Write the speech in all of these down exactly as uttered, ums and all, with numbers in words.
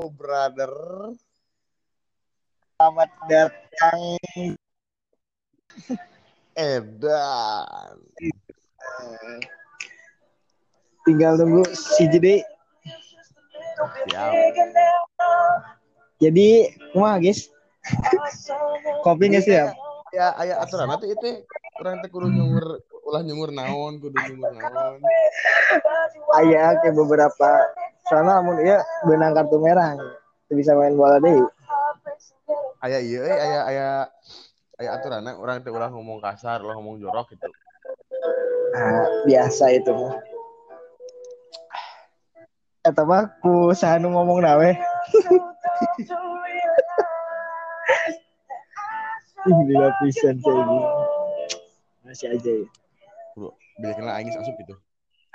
brother. Selamat datang. Edan. Tinggal tunggu si Jede. Siap. Jadi, kumaha guys? Kopi nggak siap? Ya, aya aturan nanti itu orang teh kudu nyungur ulah nyungur naon, kudu nyungur naon. Aya ke beberapa sana mun ieu benang kartu merah. Teu bisa main bola deui. Aya ieu euy, aya aya aya aturanna urang teh ulah ngomong kasar, ulah ngomong jorok gitu. Nah, biasa itu mah. Eta mah ku sahanu ngomong nawe. Ih, dilapisan saya ini. Masih aja ya. Bro, bijakna aing geus asup gitu.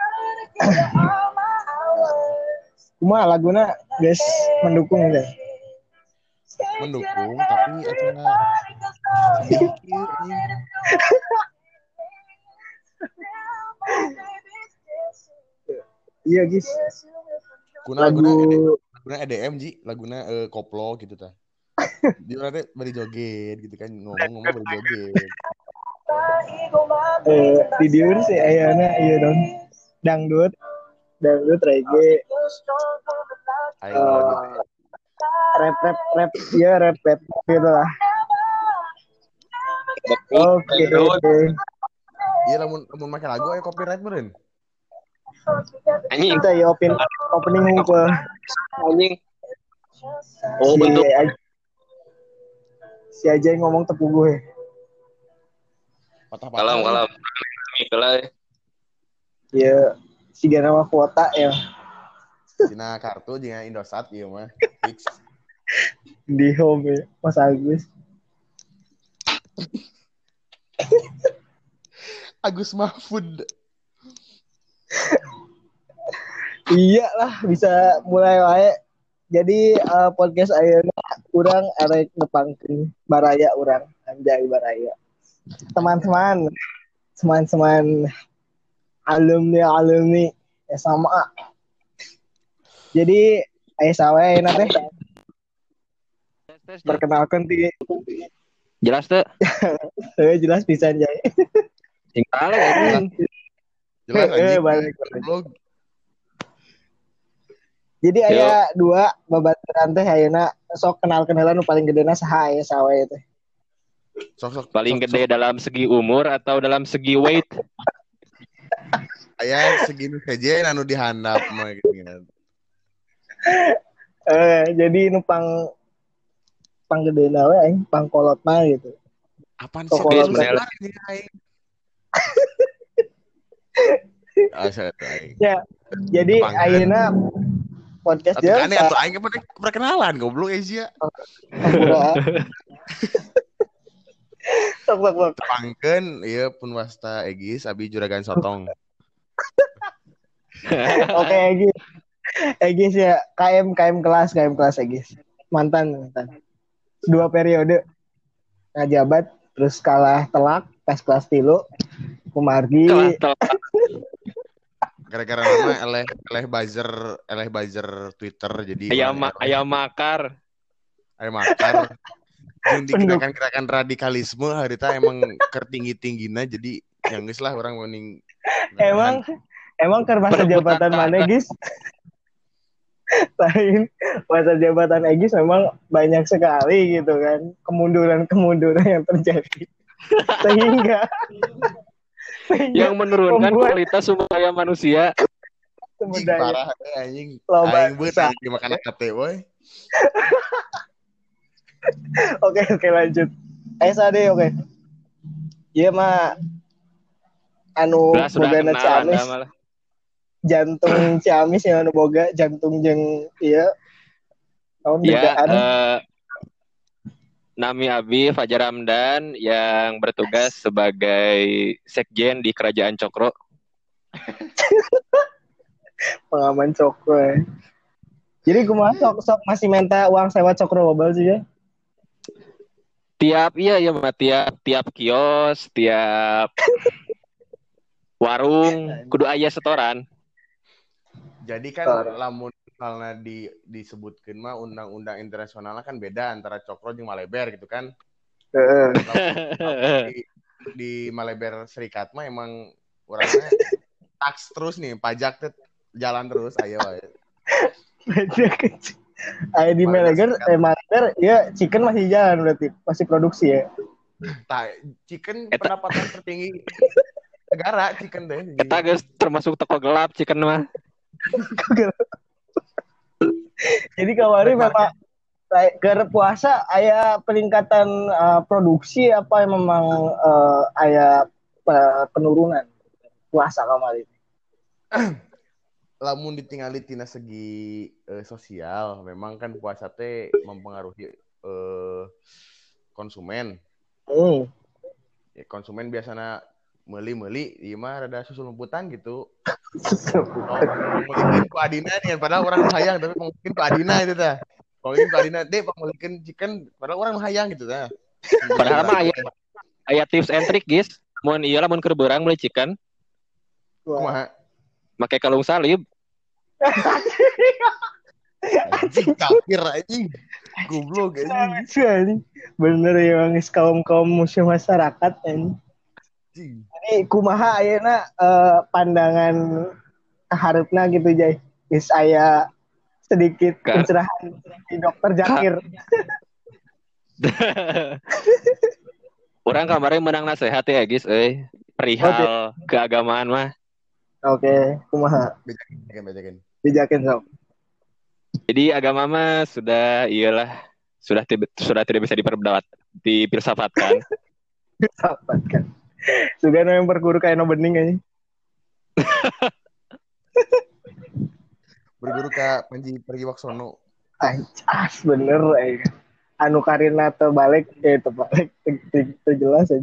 Kumaha laguna guys mendukung deh. Mendukung tapi acara sedih kieu anjing. Iya guys. Kuna Lagu laguna laguna E D M ji, laguna uh, koplo gitu tah. Di urang teh bari joget gitu kan, ngomong-ngomong bari joget. eh di dieur sih ayana ieu dong. Dangdut, dangdut reggae. Aing mah gitu. Uh, rap rap rap ya rap rap gitu lah. Oke. Iya lamun lamun make lagu aya copyright meureun. Anjing. Kita ya open opening ngumpul. Anjing. Oh, si betul. Aj- si aja yang ngomong tepu gue. Patah-patah. Kalam kalam. Kalam. Ya, si nama kuota ya. Cina kartu jeung Indosat ieu mah fix. Di home ya, Mas Agus. Agus Mahfud. Iya lah, bisa mulai wae. Jadi uh, podcast ayeuna urang arek nepangkeun baraya urang, anjay baraya. Teman-teman, teman-teman alumni-alumni S M A. Jadi aya sawe ayeuna teh. Perkenalkan ti. Jelas teh? Heuh jelas pisan jay. Tinggal anjing. Jelas anjing. balik. Blog. Jadi aya dua babaturan teh ayeuna sok kenal-kenalan nu paling gedena saha aya sawe teh. Sok sok paling sok, gede sok. Dalam segi umur atau dalam segi weight? Aya segini saja anu dihandap mah gitu kan. Eh jadi nu pang pang gedena we aing pangkolot mah gitu. Apaan sih Kolot sebenarnya aing? Asa aing. Ya. Jadi ayeuna podcast dia aneh atuh aing pernah perkenalan goblok Asia. Sok sok sok. Pangkeun ieu pun wasta Egis abi juragan sotong. Oke Egis. Egis ya K M K M kelas K M kelas Egis. Mantan mantan. Dua periode ngajabat terus kalah telak pas kelas tilu kumargi. Gara-gara nama eleh eleh buzzer eleh buzzer Twitter jadi ayam ma- ayam makar ayam makar jeung gerakan-gerakan radikalisme harita emang ketinggi-tinggina jadi yang geus lah orang mending emang emang keur masa jabatan mana guys lain masa jabatan Egis memang banyak sekali gitu kan kemunduran-kemunduran yang terjadi sehingga yang menurunkan membuat kualitas sumber daya manusia. Anjing parah anjing. Aing beut anjing dimakan kate boy. Oke oke lanjut. S A D oke. Ieu mah anu bogana Ciamis. Jantung Ciamis yang anu boga jantung jeung ieu tahun degaan. Uh, Nami Abi Fajar Ramdan yang bertugas sebagai sekjen di Kerajaan Cokro. Pengaman Cokro. Ya. Jadi kumaha sok sok masih minta uang sewa Cokro Mobile sih ya? Tiap iya ya mah tiap tiap kios, tiap warung kudu aya setoran. Jadi kan lamun karena di disebutkan mah undang-undang internasional kan beda antara cokro jeung Maleber gitu kan. Heeh. di, di Maleber Serikat mah emang orangnya tax terus nih, pajak tuh jalan terus ayo wae. Ayo di Maleber, eh Maleber ya chicken masih jalan berarti, masih produksi ya. Tah, chicken pendapatan tertinggi negara chicken deh. Kita guys termasuk toko gelap chicken mah. Jadi kemarin memang ke puasa aya peningkatan uh, produksi apa yang memang uh, aya uh, penurunan puasa kemarin. Lamun ditinggali tina segi uh, sosial, memang kan puasa teh mempengaruhi uh, konsumen. Hmm. Ya, konsumen biasanya meuli-meuli ieu mah rada susul lemputan gitu. Oh, mungkin ku Adina nih, padahal orang hayang tapi mungkin ku Adina itu tah. Kalau ini ku Adina deh pemilikan chicken padahal orang hayang gitu tah. Padahal mah aya aya tips and trick guys. Mun ieu lah mun keur beurang meuli chicken. Kumaha? Make kalung salib. Anjing kafir anjing. Goblok anjing. Bener ya bang, kaum-kaum musuh masyarakat anjing. Jadi kumaha ayeuna uh, pandangan hareupna gitu Jay. Geus aya sedikit pencerahan di Dokter Zakir. Orang kemarin menang nasihat ya guys, eh perihal okay. keagamaan mah. Oke, okay. Kumaha? Bejakin, bejakin. Bejakin sob. Jadi agama mah sudah iyalah sudah tiba, sudah tidak bisa diperdebat, dipilsafatkan. Filsafatkan. Sudah yang berguru kayak no bening aja. Berguru ka Panji Pragiwaksono. Anjas bener eh. Anu karina teu balik eh teu balik teu jelas aja.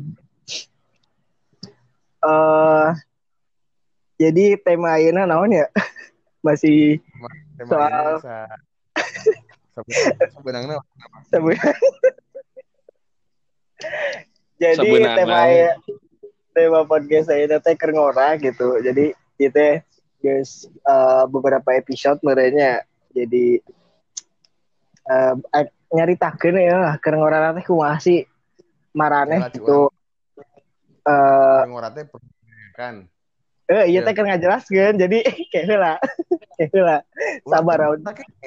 Uh, jadi tema ayeuna naon ya? Masih tema soal sa sebenarnya jadi Sebenarnya. tema ya, tema podcast saya teh keur ngora gitu. Jadi kita guys uh, beberapa episode merenya jadi uh, nyaritakeun ya keur ngora teh kumaha sih maraneh gitu. Eh ngora teh kan. Eh iya teh keur ngajelaskeun jadi kayak heula. Kayak heula. Sabar aun.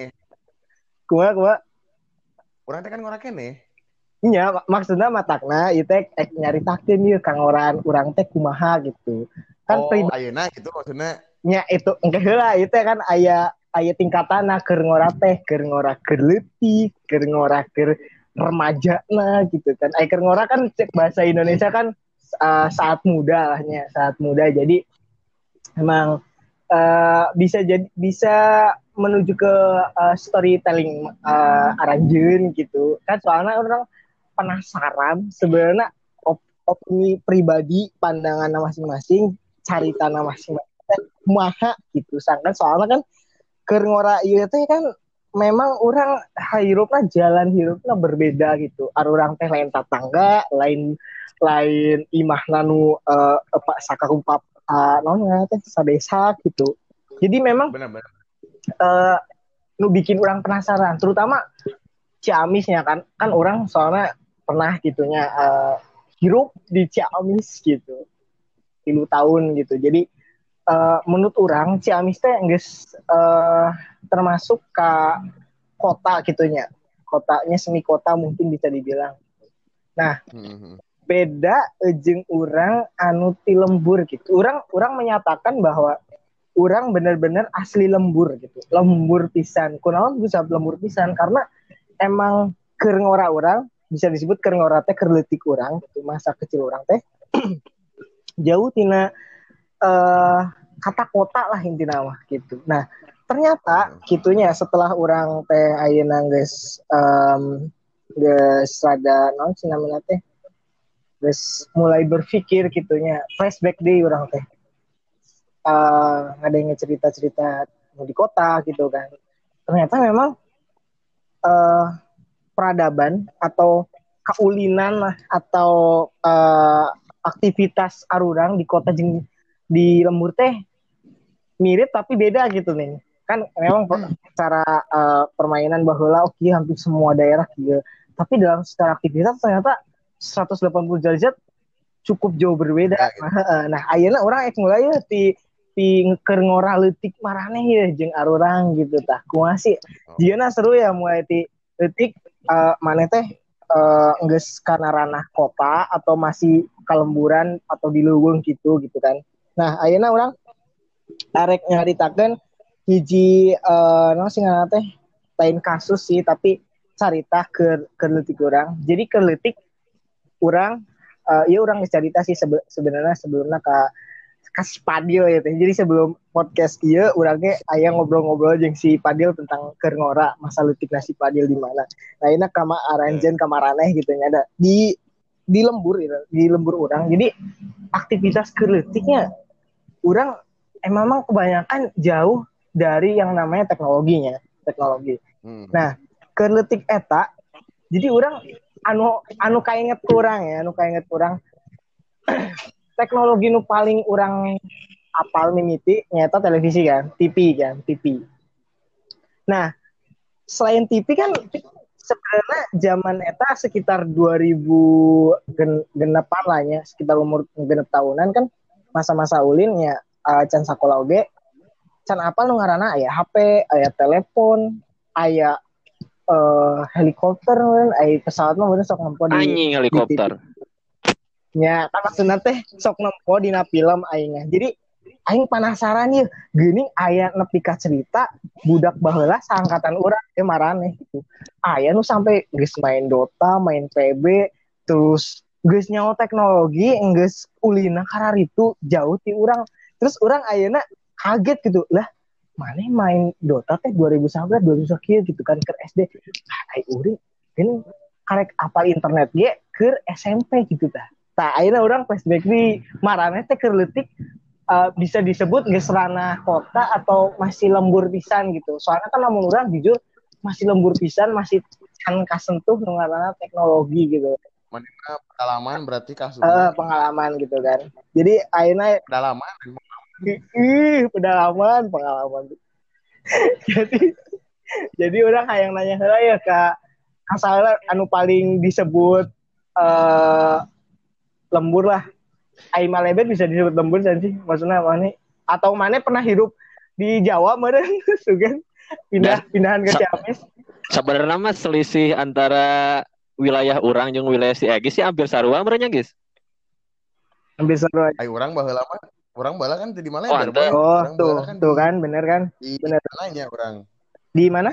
Kumaha kumaha? Urang teh kan ngora keneh. Iya, mak- maksudnya matakna ieu teh nyaritakeun ieu ka ngoran urang teh kumaha gitu. Kan oh, pribadi ayeuna gitu maksudnya. Nya itu engke heula ieu teh kan aya aya tingkatanna keur ngora teh, keur ngora keur leutik, keur ngora keur remajana gitu kan. Ai keur ngora kan cek bahasa Indonesia kan uh, saat muda lahnya, saat muda. Jadi emang uh, bisa jadi bisa menuju ke uh, storytelling uh, aranjeun gitu. Kan soalnya orang penasaran sebenarnya op- opini pribadi pandangan masing-masing caritana masing-masing kumaha gitu sangkan soalnya kan keur ngora ieu teh kan memang orang hirupna jalan hirupna berbeda gitu ar urang teh lain tatangga lain lain imahna nu uh, apa sakarupa uh, naon teh sadesa gitu jadi memang benar-benar uh, nu bikin orang penasaran terutama Ciamisnya kan kan orang soalnya pernah gitunya uh, hirup di Ciamis gitu tilu tahun gitu jadi uh, menurut orang Ciamis teh geus uh, termasuk ke kota gitunya kotanya semi kota mungkin bisa dibilang nah mm-hmm. beda jeung urang anu ti lembur gitu urang urang menyatakan bahwa urang benar-benar asli lembur gitu lembur pisan kunaon bisa lembur pisan karena emang keur ngora urang bisa disebut keur ngora teh keur leutik urang gitu masa kecil urang teh jauh tina uh, kata kota lah intina mah gitu. Nah, ternyata gitunya setelah urang teh ayeuna geus um, geus rada naon cenah namina teh geus mulai berpikir gitunya flashback deui urang teh. Uh, ngadenge cerita-cerita di kota gitu kan. Ternyata memang uh, peradaban atau kaulinan lah atau uh, aktivitas arurang di kota jeung di lembur teh mirip tapi beda gitu nih kan memang hmm. cara uh, permainan baheula oke okay, hampir semua daerah gitu. Tapi dalam secara aktivitas ternyata seratus delapan puluh derajat cukup jauh berbeda. Nah, gitu. nah, nah ayeuna urang ek mulai ti ti keur ngora leutik maraneh ya jeung arurang gitu tah. Kumaha sih? Oh. Jieuna seru ya mulai ti leutik uh, maneh teh uh, geus kana ranah kota atau masih kalemburan atau di leuweung gitu gitu kan. Nah, ayeuna urang arek nyaritakeun hiji uh, naon sih ngaranna teh lain kasus sih tapi carita keur keur leutik urang. Jadi keur leutik urang uh, ieu urang geus carita sih sebe- sebenarnya sebelumnya ka ka si Padil ya teh. Jadi sebelum podcast ieu urang ge aya ngobrol-ngobrol jeung si Padil tentang keur ngora masa leutikna si Padil di mana. Nah, ini kama aranjeun ka maraneh gitu nya ada di di lembur gitu, di lembur urang. Jadi aktivitas keur leutiknya urang emang memang kebanyakan jauh dari yang namanya teknologinya, teknologi. Hmm. Nah, keur leutik eta jadi urang anu anu kainget kurang ya, anu kainget kurang teknologi nu paling urang apal mimiti nyata televisi kan, T V kan, T V. Nah, selain T V kan sebenarnya zaman eta sekitar dua ribu genepan lah ya, sekitar umur genep tahunan kan masa-masa ulin ya uh, can sakola oge can apal nu ngaranna aya H P, aya telepon, aya uh, helikopter, aya pesawat mah bener sok nempo di anjing helikopter. Nya, tak maksudna teh sok nempo dina film aingnya. Jadi aing penasaran ye, geuning aya nepi ka cerita budak baheula saangkatan urang teh maraneh gitu. Aya nu sampai geus main Dota, main P B, terus geus nyaho teknologi, geus ulina kararitu jauh ti urang. Terus urang ayeuna kaget gitu lah, mana main Dota teh dua ribu sebelas dua ribu sebelas gitu kan ke S D. Ah, ai urang kan karek apal internet ge keur S M P gitu tah. Tah ayeuna urang flashback di maraneh teh keur leutik uh, bisa disebut geus ranah kota atau masih lembur pisan gitu. Soalnya kan lamun urang jujur masih lembur pisan, masih can kasentuh nu ngaranna teknologi gitu. Mana pengalaman berarti kasus uh, pengalaman gitu kan. Jadi ayeuna pengalaman ih pedalaman pengalaman jadi jadi orang hayang nanya heula ya ka asalna anu paling disebut uh, lembur lah ai Malebet bisa disebut lembur kan sih maksudnya mana atau mana pernah hidup di Jawa meureun sugan pindah pindahan ke Ciamis. Sebenarnya mah selisih antara wilayah orang jeung wilayah si Egis sih hampir sarua meureun nya guys. Hampir sarua. Ai urang baheula mah orang bala kan di mana ya? Oh, oh tuh, kan tuh di, kan, bener kan? Di bener. Mananya orang. Di mana?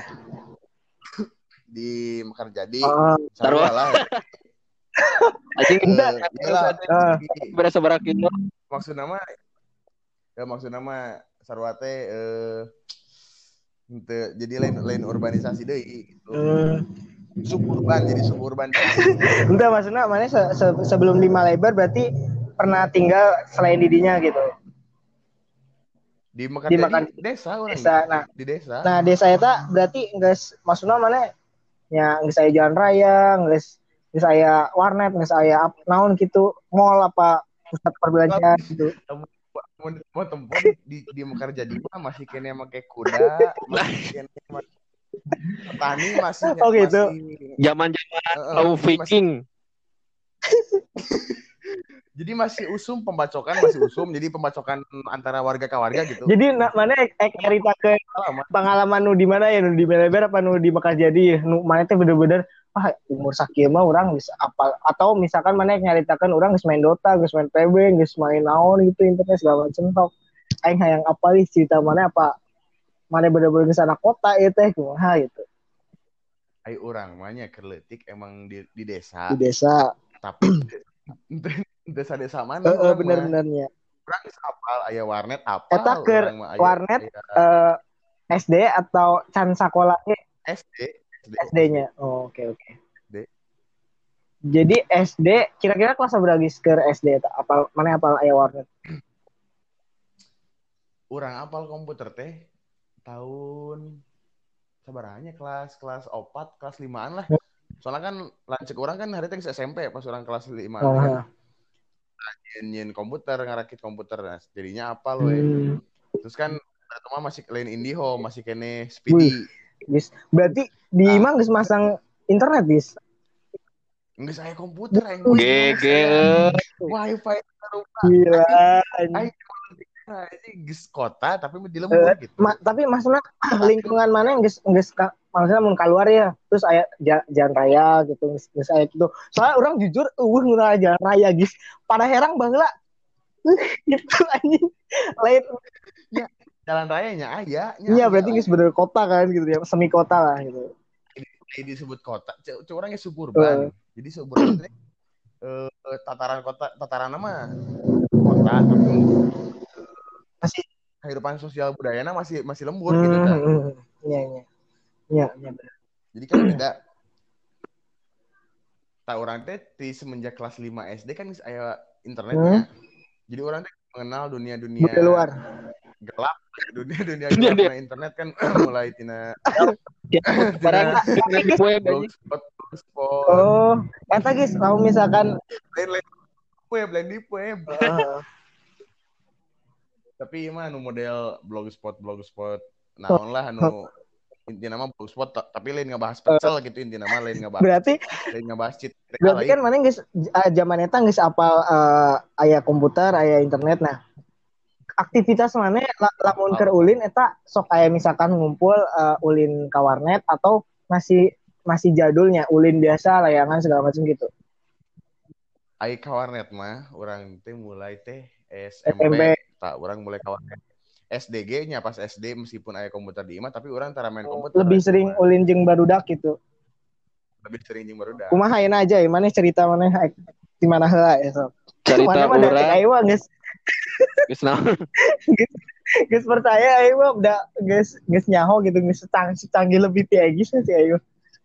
Di Mekarjadi. Oh, Sarua lah. Anjing enggak. Iyalah. Berasa berak itu. Maksud nama ya maksud nama sarua teh eh ente, jadi lain lain urbanisasi deui gitu. Hmm. Suburban jadi suburban. Enggak maksudnya mana se- se- sebelum di Malebar berarti pernah tinggal selain didinya gitu. Di Mekarjadi di Mekan, desa orang desa. Nah, di desa. Nah, desa eta berarti geus maksudna mana nya geus aya jalan raya, geus geus aya warnet, geus aya naon gitu, mall apa pusat perbelanjaan gitu. Mau tempat di di Mekarjadi mah masih kene make kuda, masih kene petani masih oh, gitu. Zaman-zaman uh, uh, Viking. Jadi masih usum pembacokan, masih usum. Jadi pembacokan antara warga ke warga gitu. Jadi na, mana ek, ek cerita ke pengalaman nu di mana ya, nu di Meleber apa nu di Mekarjadi, nu mana teh bener-bener ah umur sakieu mah urang bisa apa atau misalkan mana ek nyaritakeun urang geus main Dota, geus main P B, geus main naon gitu internet segala macam tok. Aing hayang apal cerita mana apa mana bener-bener geus anak kota ieu teh kumaha gitu. Ai urang mah nya keur leutik emang di, di desa. Di desa. Tapi desa-desa mana? Heeh, uh, bener-benernya. Urang geus apal aya warnet apal. Eta keur warnet aya, uh, S D atau can sakola ge? S D. S D-nya. Oh, oke okay, oke. Okay. Jadi S D kira-kira kelas berapa geus keur S D eta? Apal mana apal aya warnet? Urang apal komputer teh tahun sabaranya kelas kelas opat, kelas limaan lah. Soalnya kan lancek orang kan hari teh S M P pas orang kelas lima oh. Kan. Nyin komputer ngarakit komputer nah, jadinya apal we. Hmm. Terus kan Cuma masih lain IndiHome, masih kene Speedy. Guys, berarti di ah. Imang geus masang internet, guys. Geus aya komputer aing. G G Wifi rupa. Gila. Aing ini geus kota tapi di lembur uh, gitu. Ma- tapi maksudnya lingkungan mana yang geus geus maksudnya mun keluar ya, terus aya jalan raya gitu, geus aya gitu. Soalnya orang jujur eueuh ngurang jalan raya, guys. Pada herang baheula. Gitu anjing. Lain ya, jalan rayanya aya. Iya, berarti geus bener kota kan gitu ya, semi kota lah gitu. Ini disebut kota, cek orangnya suburban. Uh. Jadi suburban itu eh, tataran kota, tataran nama kota tapi masih kehidupan sosial budayanya masih masih lembur hmm, gitu kan. Iya iya. Iya, iya benar. Jadi kan beda. Tak orang teh di semenjak kelas lima S D kan aya internetnya. Hmm? Jadi orang teh mengenal dunia-dunia luar gelap, dunia-dunia gelap na internet kan mulai tina barang di web blogspot, blogspot. Oh, eta guys, kalau misalkan lain-lain web, lain di web. Tapi mah anu model blogspot blogspot naon lah anu intinya mah blogspot tapi lain ngebahas pecel gitu intinya mah lain ngebahas berarti lain ngebahas cheat berarti kan mana geus zaman eta geus apal uh, aya komputer aya internet. Nah aktivitas mana lamun keur ulin eta sok aya misalkan ngumpul uh, ulin ka warnet atau masih masih jadulnya ulin biasa layangan segala macam gitu. Ai ka warnet mah urang teh mulai teh S M P tak orang mulai kawan S D G-nya pas S D meskipun aya komputer di imah tapi orang tara main komputer. Lebih sering cuman. Ulin jeung barudak gitu. Lebih sering jeung barudak. Kumaha ayeuna aja ya mana cerita mana di mana heula ya sok. Cerita urang. Ayo mah geus. Geus naon? Geus percaya ayo mah udah geus geus nyaho gitu geus canggih lebih ti Egis sih ayo.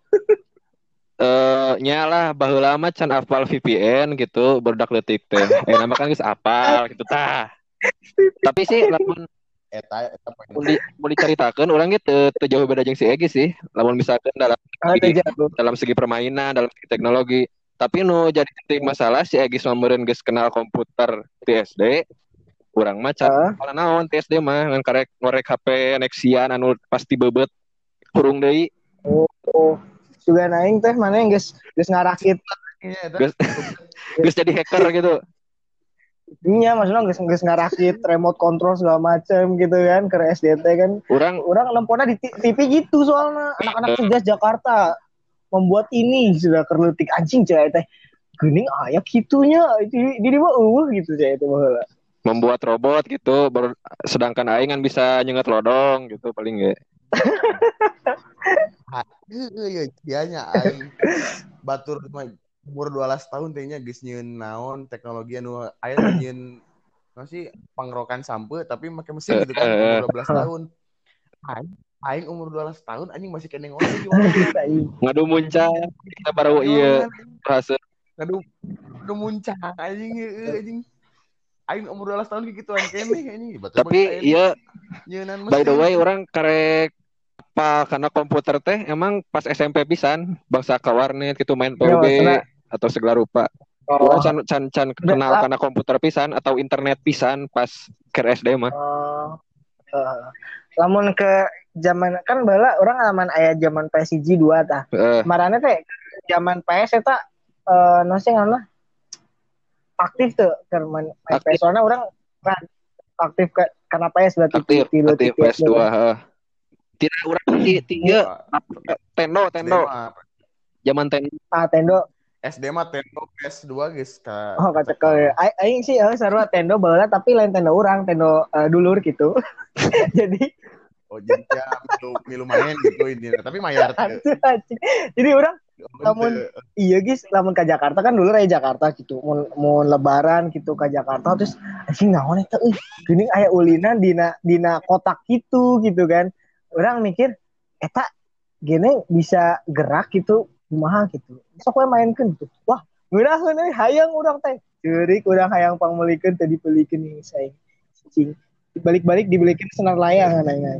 Eh nyala baheula mah can apal V P N gitu barudak leutik teh. Eh nama kan geus apal gitu tah. Tapi sih lamun eta eta mun di mun dicaritakeun urang ge teu teu jauh beda jeung si Egi sih. Lamun misalkan dalam segi, dalam segi permainan, dalam segi teknologi. Tapi nu jadi titik masalah si Egi meureun geus kenal komputer ti S D. Urang mah can uh. naon ti S D mah ngan karek ngorek H P Nexian anu pasti beubet kurung deui. Oh, oh. Juga naing teh mana yang geus geus ngarakit. Geus geus jadi hacker gitu. Iya, maksudnya geus geus ngarakit remote control segala macam gitu kan ke S D T kan. Urang urang lempona di T V gitu soalnya anak-anak cerdas Jakarta membuat ini sudah kerleutik anjing cai teh. Geuning aya kitunya di di mah eueuh gitu cai teh baheula. Membuat robot gitu ber, sedangkan aing kan bisa nyenget lodong gitu paling ge. Heeh, ya nya aing batur umur dua belas tahun tehnya geus nyieun naon teknologi anu aya nyieun masih pangrokan sampe tapi make mesin gitu kan umur dua belas tahun. Aing aing umur dua belas tahun anjing masih kene ngomong gimana ngadu muncang kita baru ieu bahasa ngadu ngadu muncang anjing anjing aing umur dua belas tahun gituan kene anjing. Tapi ieu by the way orang karek apa karena komputer teh emang pas S M P pisan bangsa ka warnet gitu main P U B ya, atau segala rupa. Oh. Can can can kenal karena komputer pisan atau internet pisan pas ke S D mah. Oh. Uh, lamun ke zaman kan bala orang alaman aya zaman P S I G dua tah. Uh. Marane teh zaman P S eta eh uh, no sih ngaranna aktif tuh keur main P S soalnya orang kan aktif ke karena P S berarti aktif, aktif P S dua heeh. Tidak urang ti tiga Tendo Tendo zaman Tendo ah Tendo S D mah Tendo P S dua geus ka oh kacekel aing sih heuh sarua Tendo baheula tapi lain Tendo urang Tendo uh, dulur gitu jadi oh jadi ya milu milu main gitu intinya tapi mayar teh jadi urang lamun iya guys lamun ka Jakarta kan dulu aya Jakarta gitu mun mun lebaran gitu ka Jakarta terus anjing naon eta euy geuning aya ulinan dina dina kotak gitu gitu kan. Orang mikir, eta gini bisa gerak gitu, kumaha gitu. Sok we mainkeun gitu. Wah, ngeunaheun euy hayang urang teh. Ceurik urang hayang pangmelikeun teh dipelikeun nih saing. Cing. Balik-balik dibelikeun senar layang ananya.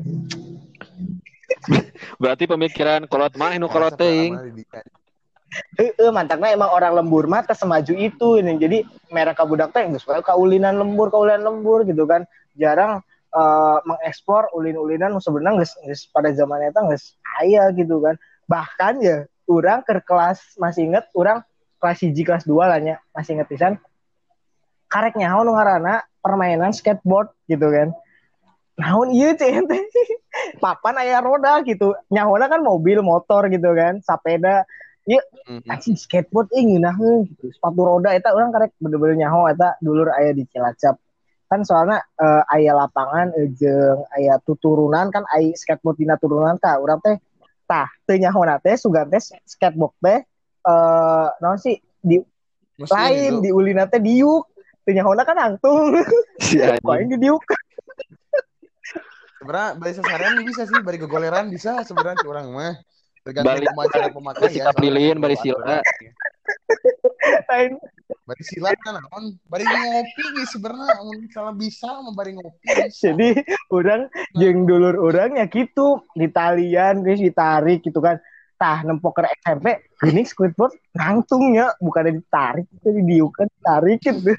Berarti pemikiran kolot mah nu kolot teuing. Heeh, mantapna emang orang lembur mah teh semaju itu ini. Jadi merek ka budak teh geus wae kaulinan lembur, kaulinan lembur gitu kan. Jarang uh, mengeksplor ulin-ulinan sebenarnya geus pada zaman eta geus aya gitu kan. Bahkan ya orang ke kelas masih inget orang kelas satu kelas dua lah nya masih inget pisan karek nyaho nu ngaranna permainan skateboard gitu kan. Naon ieu teh teh papan aya roda gitu. Nyahona kan mobil motor gitu kan, sepeda. Ieu anjing skateboard ih ngeunaheun gitu. Sepatu roda eta urang karek bener-bener nyaho eta dulur aya di Cilacap. Kan soalnya uh, aya lapangan uh, jeung aya tuturunan kan aya skateboard dina turunan ka urang teh tah teu nyahona teh sugan teh skateboard teh uh, naon sih di Mesin lain itu. Di ulina teh diuk teu nyahona kan angtung si paling di diuk sebenarnya bari sasaran bisa sih bari gegoleran bisa sebenarnya orang mah tergantung kumaha cara pemakai ya sikap lilin bari sila lain bari silat kan naon bari ngopi ge sebenarnya mun salah bisa mah bari ngopi bisa. Jadi urang jeung dulur urang nya kitu di talian geus ditarik gitu kan tah nempok ke S M P geuning skateboard ngangtung nya bukan ditarik itu didiukan ditarik gitu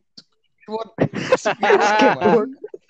skateboard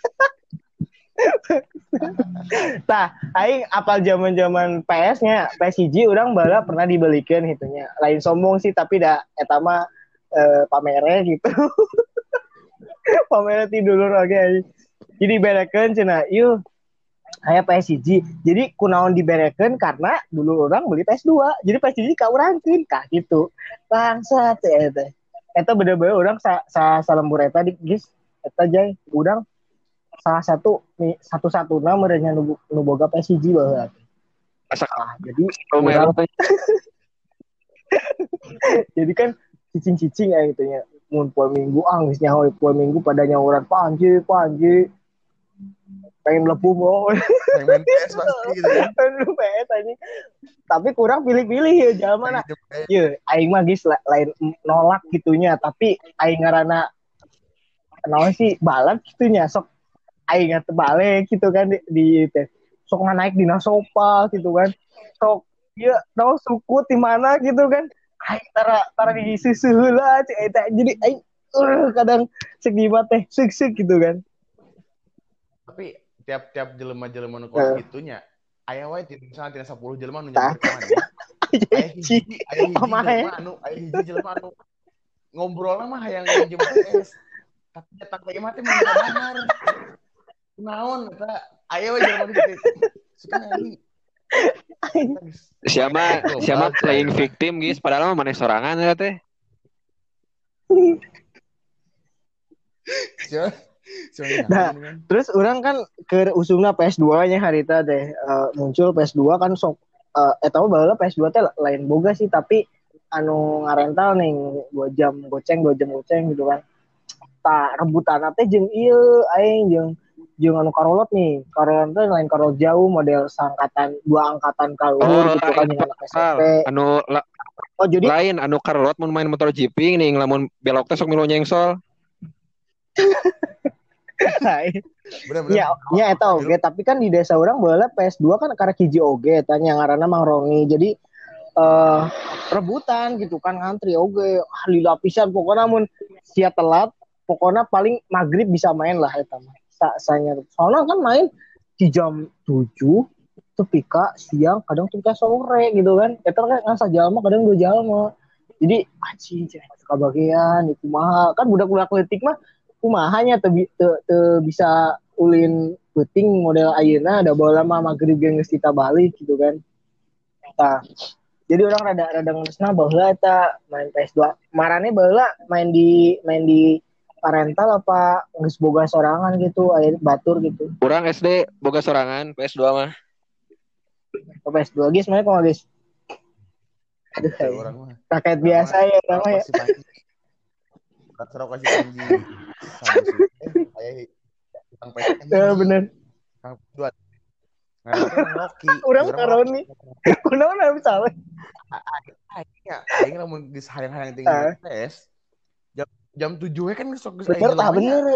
tah aing apal zaman-zaman P S-nya P S satu urang bala pernah dibelikeun hitunya lain sombong sih tapi da eta mah e, pamere gitu pamere ti dulur oge okay. Jadi berekeun cenah ieu aya P S satu jadi kunaon diberekeun karena dulu orang beli P S dua jadi P S satu ka urangkeun kah gitu bangsat eta eta bener-bener urang sa, sa salembur eta di geus eta jay urang salah satu nih satu-satunya merenya nu, nu boga P S satu baheula. Ah, jadi urang jadi kan cicing-cicing ya gitu nya. Mun poe Minggu ah geus nyaho poe Minggu pada nyawuran panji panji. Pengen mlebu mau. Pengen P S pasti gitu kan. Pengen P S anjing. Tapi kurang pilih-pilih ya jaman mana. Ye, aing mah geus lain nolak gitunya, tapi aing ngaranna naon sih balat gitunya sok aing teu balik gitu kan di, di teh sok naik dina sopa gitu kan sok ieu naon suku di mana gitu kan aing tara tara di susu heula eta jadi aing uh, kadang seg di mah teh seg-seg gitu kan tapi tiap-tiap jelema-jelema nu kos gitunya aya wae ti misalnya tina sepuluh jelema nu nyamper ka mana aya hiji aya hiji jelema anu aya hiji jelema anu ngobrolna mah hayang nginjem P S tapi cetak teh mah teh mun benar naon eta aya we jelema kitu suka anjing siapa siapa playing victim guys padahal mah maneh sorangan ya teh nah terus orang kan ke usungna P S dua nya harita teh uh, muncul P S dua kan sok uh, eta mah baheula P S dua teh lain boga sih tapi anu ngarental nih dua jam goceng dua jam goceng gitu kan tak rebutan teh jeung ieu aing jeung jeung anu karolot nih karolot teh lain karolot jauh model sangkatan dua angkatan kaluhur oh, gitu kan jeung anak S M P anu la, oh jadi lain anu karolot mun main motor jeeping nih lamun belok teh sok milu nyengsol ya ya eta oge tapi kan di desa urang baheula P S dua kan karek hiji oge tanya ngaranna Mang Roni jadi uh, rebutan gitu kan ngantri oge ah lila pisan pokona mun sia telat pokona paling maghrib bisa main lah eta mah sanya soalnya kan main di jam tujuh tepika siang kadang tepika sore gitu kan eta kan ngasa jalma kadang dua jalma jadi anjing suka bagian itu mah kan budak-budak leutik mah kumahanya teu teu bisa ulin peuting model ayeuna da baheula mah magrib geus kita balik gitu kan tah jadi orang rada rada ngeusna baheula eta main P S dua marane baheula main di main di parental apa geus boga sorangan gitu aya batur gitu urang S D boga sorangan P S dua mah oh, P S dua geus mah kok geus aduh orang mah rakyat biasa ya orang mah ya kasih kasih panji aya tang P S ya bener tang dua Rocky urang karoni kunaon anu salah aing aing lamun geus hayang-hayang tinggal P S jam tujuh we kan sok geus bener tah bener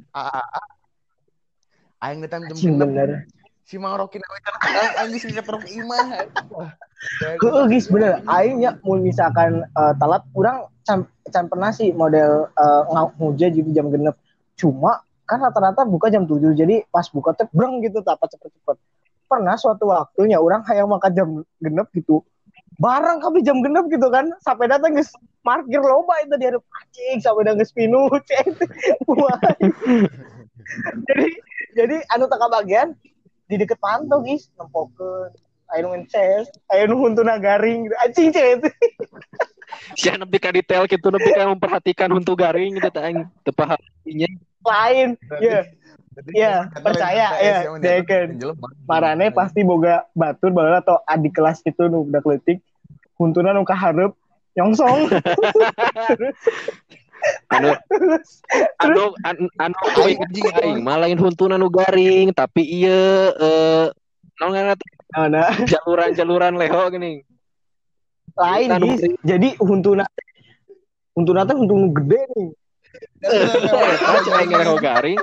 aing geus jam enam si Mang Rocky we kan aing geus keteruk imah heuh geus bener aing nya mun misalkan uh, telat urang can, can pernah sih model uh, nguja jadi jam genep cuma kan rata-rata buka jam tujuh, jadi pas buka teh breng gitu tak cepet-cepet. Pernah suatu waktunya orang hayang makan jam genep gitu, barang kami jam genep gitu kan, sampai datang guys parkir loba itu di hareup anjing sampai datang geus pinu jadi jadi anu teka bagian di deket panto guys nempokeun aya nu ngeces aya nu huntuna garing gitu anjing ceh itu. Sia nepi ka detail kitu nepi ka memperhatikan huntu garing gitu teh aing teu paham nya. Lain ya ya percaya ya deken marane pasti boga batur baheula atau adik kelas gitu nu budak leutik huntuna nu kahareup nyongsong. anu anu anu anu anjing aing mah lain huntuna nu garing tapi ieu eh naon ngaranna teh jaluran-jaluran leho geuning. Lain guys, jadi huntuna huntuna teh huntu nu gede nih. Aja aing leho garing.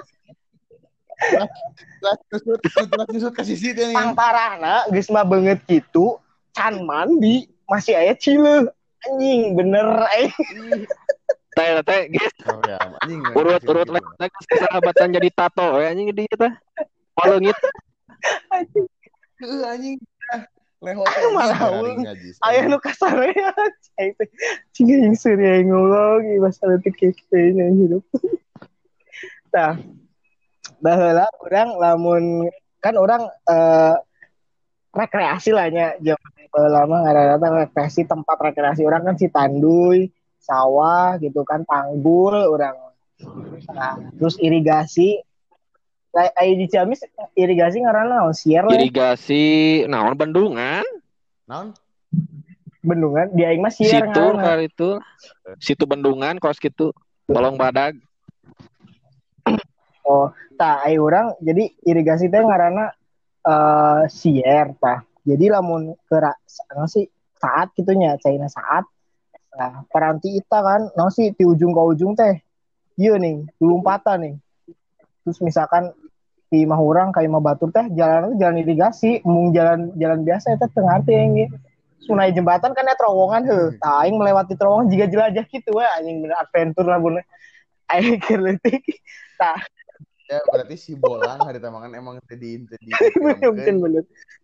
Tusut ka sisi teh. Pang parahna geus mah beungeut kitu, can mandi masih aya cileuh. Anjing bener aing. Teh teh geus. Urut-urut lek sahabatan jadi tato ya anjing di teh. Paleungit. Anjing. Heeh anjing. Leho malaung. Aya nu kasarea cai teh. Cing seueur ngolong ieu masalah teh kieu hidup. Tah. Baheula urang lamun kan orang uh, rekreasi lah nya zaman baheula mah ngaranna rekreasi tempat rekreasi orang kan Citanduy, sawah gitu kan Panggul urang. Nah, terus irigasi kayak di Ciamis irigasi ngaranna naon sier lah. Irigasi naon bendungan? Naon? Bendungan di aing mah sier ngaranna. Situ kali itu. Situ bendungan kos kitu. Kolong badag. Oh, tah ai urang jadi irigasi teh ngaranna uh, sier tah. Jadi lamun kera anu sih saat kitunya caina saat. Nah, paranti ita kan naon sih di ujung ke ujung teh. Ieu nih, lompatan nih. Terus misalkan di mah urang ka imah batur teh jalan itu jalan irigasi, mung jalan jalan biasa eta teu ngarti aing. Sunai jembatan kan ada terowongan heuh. Tah aing melewati terowongan jiga jelajah kitu we anjing bener adventure lah bener. Aing keur leutik. Tah ya berarti si bolang hari tamangan emang tadi tadi mungkin bener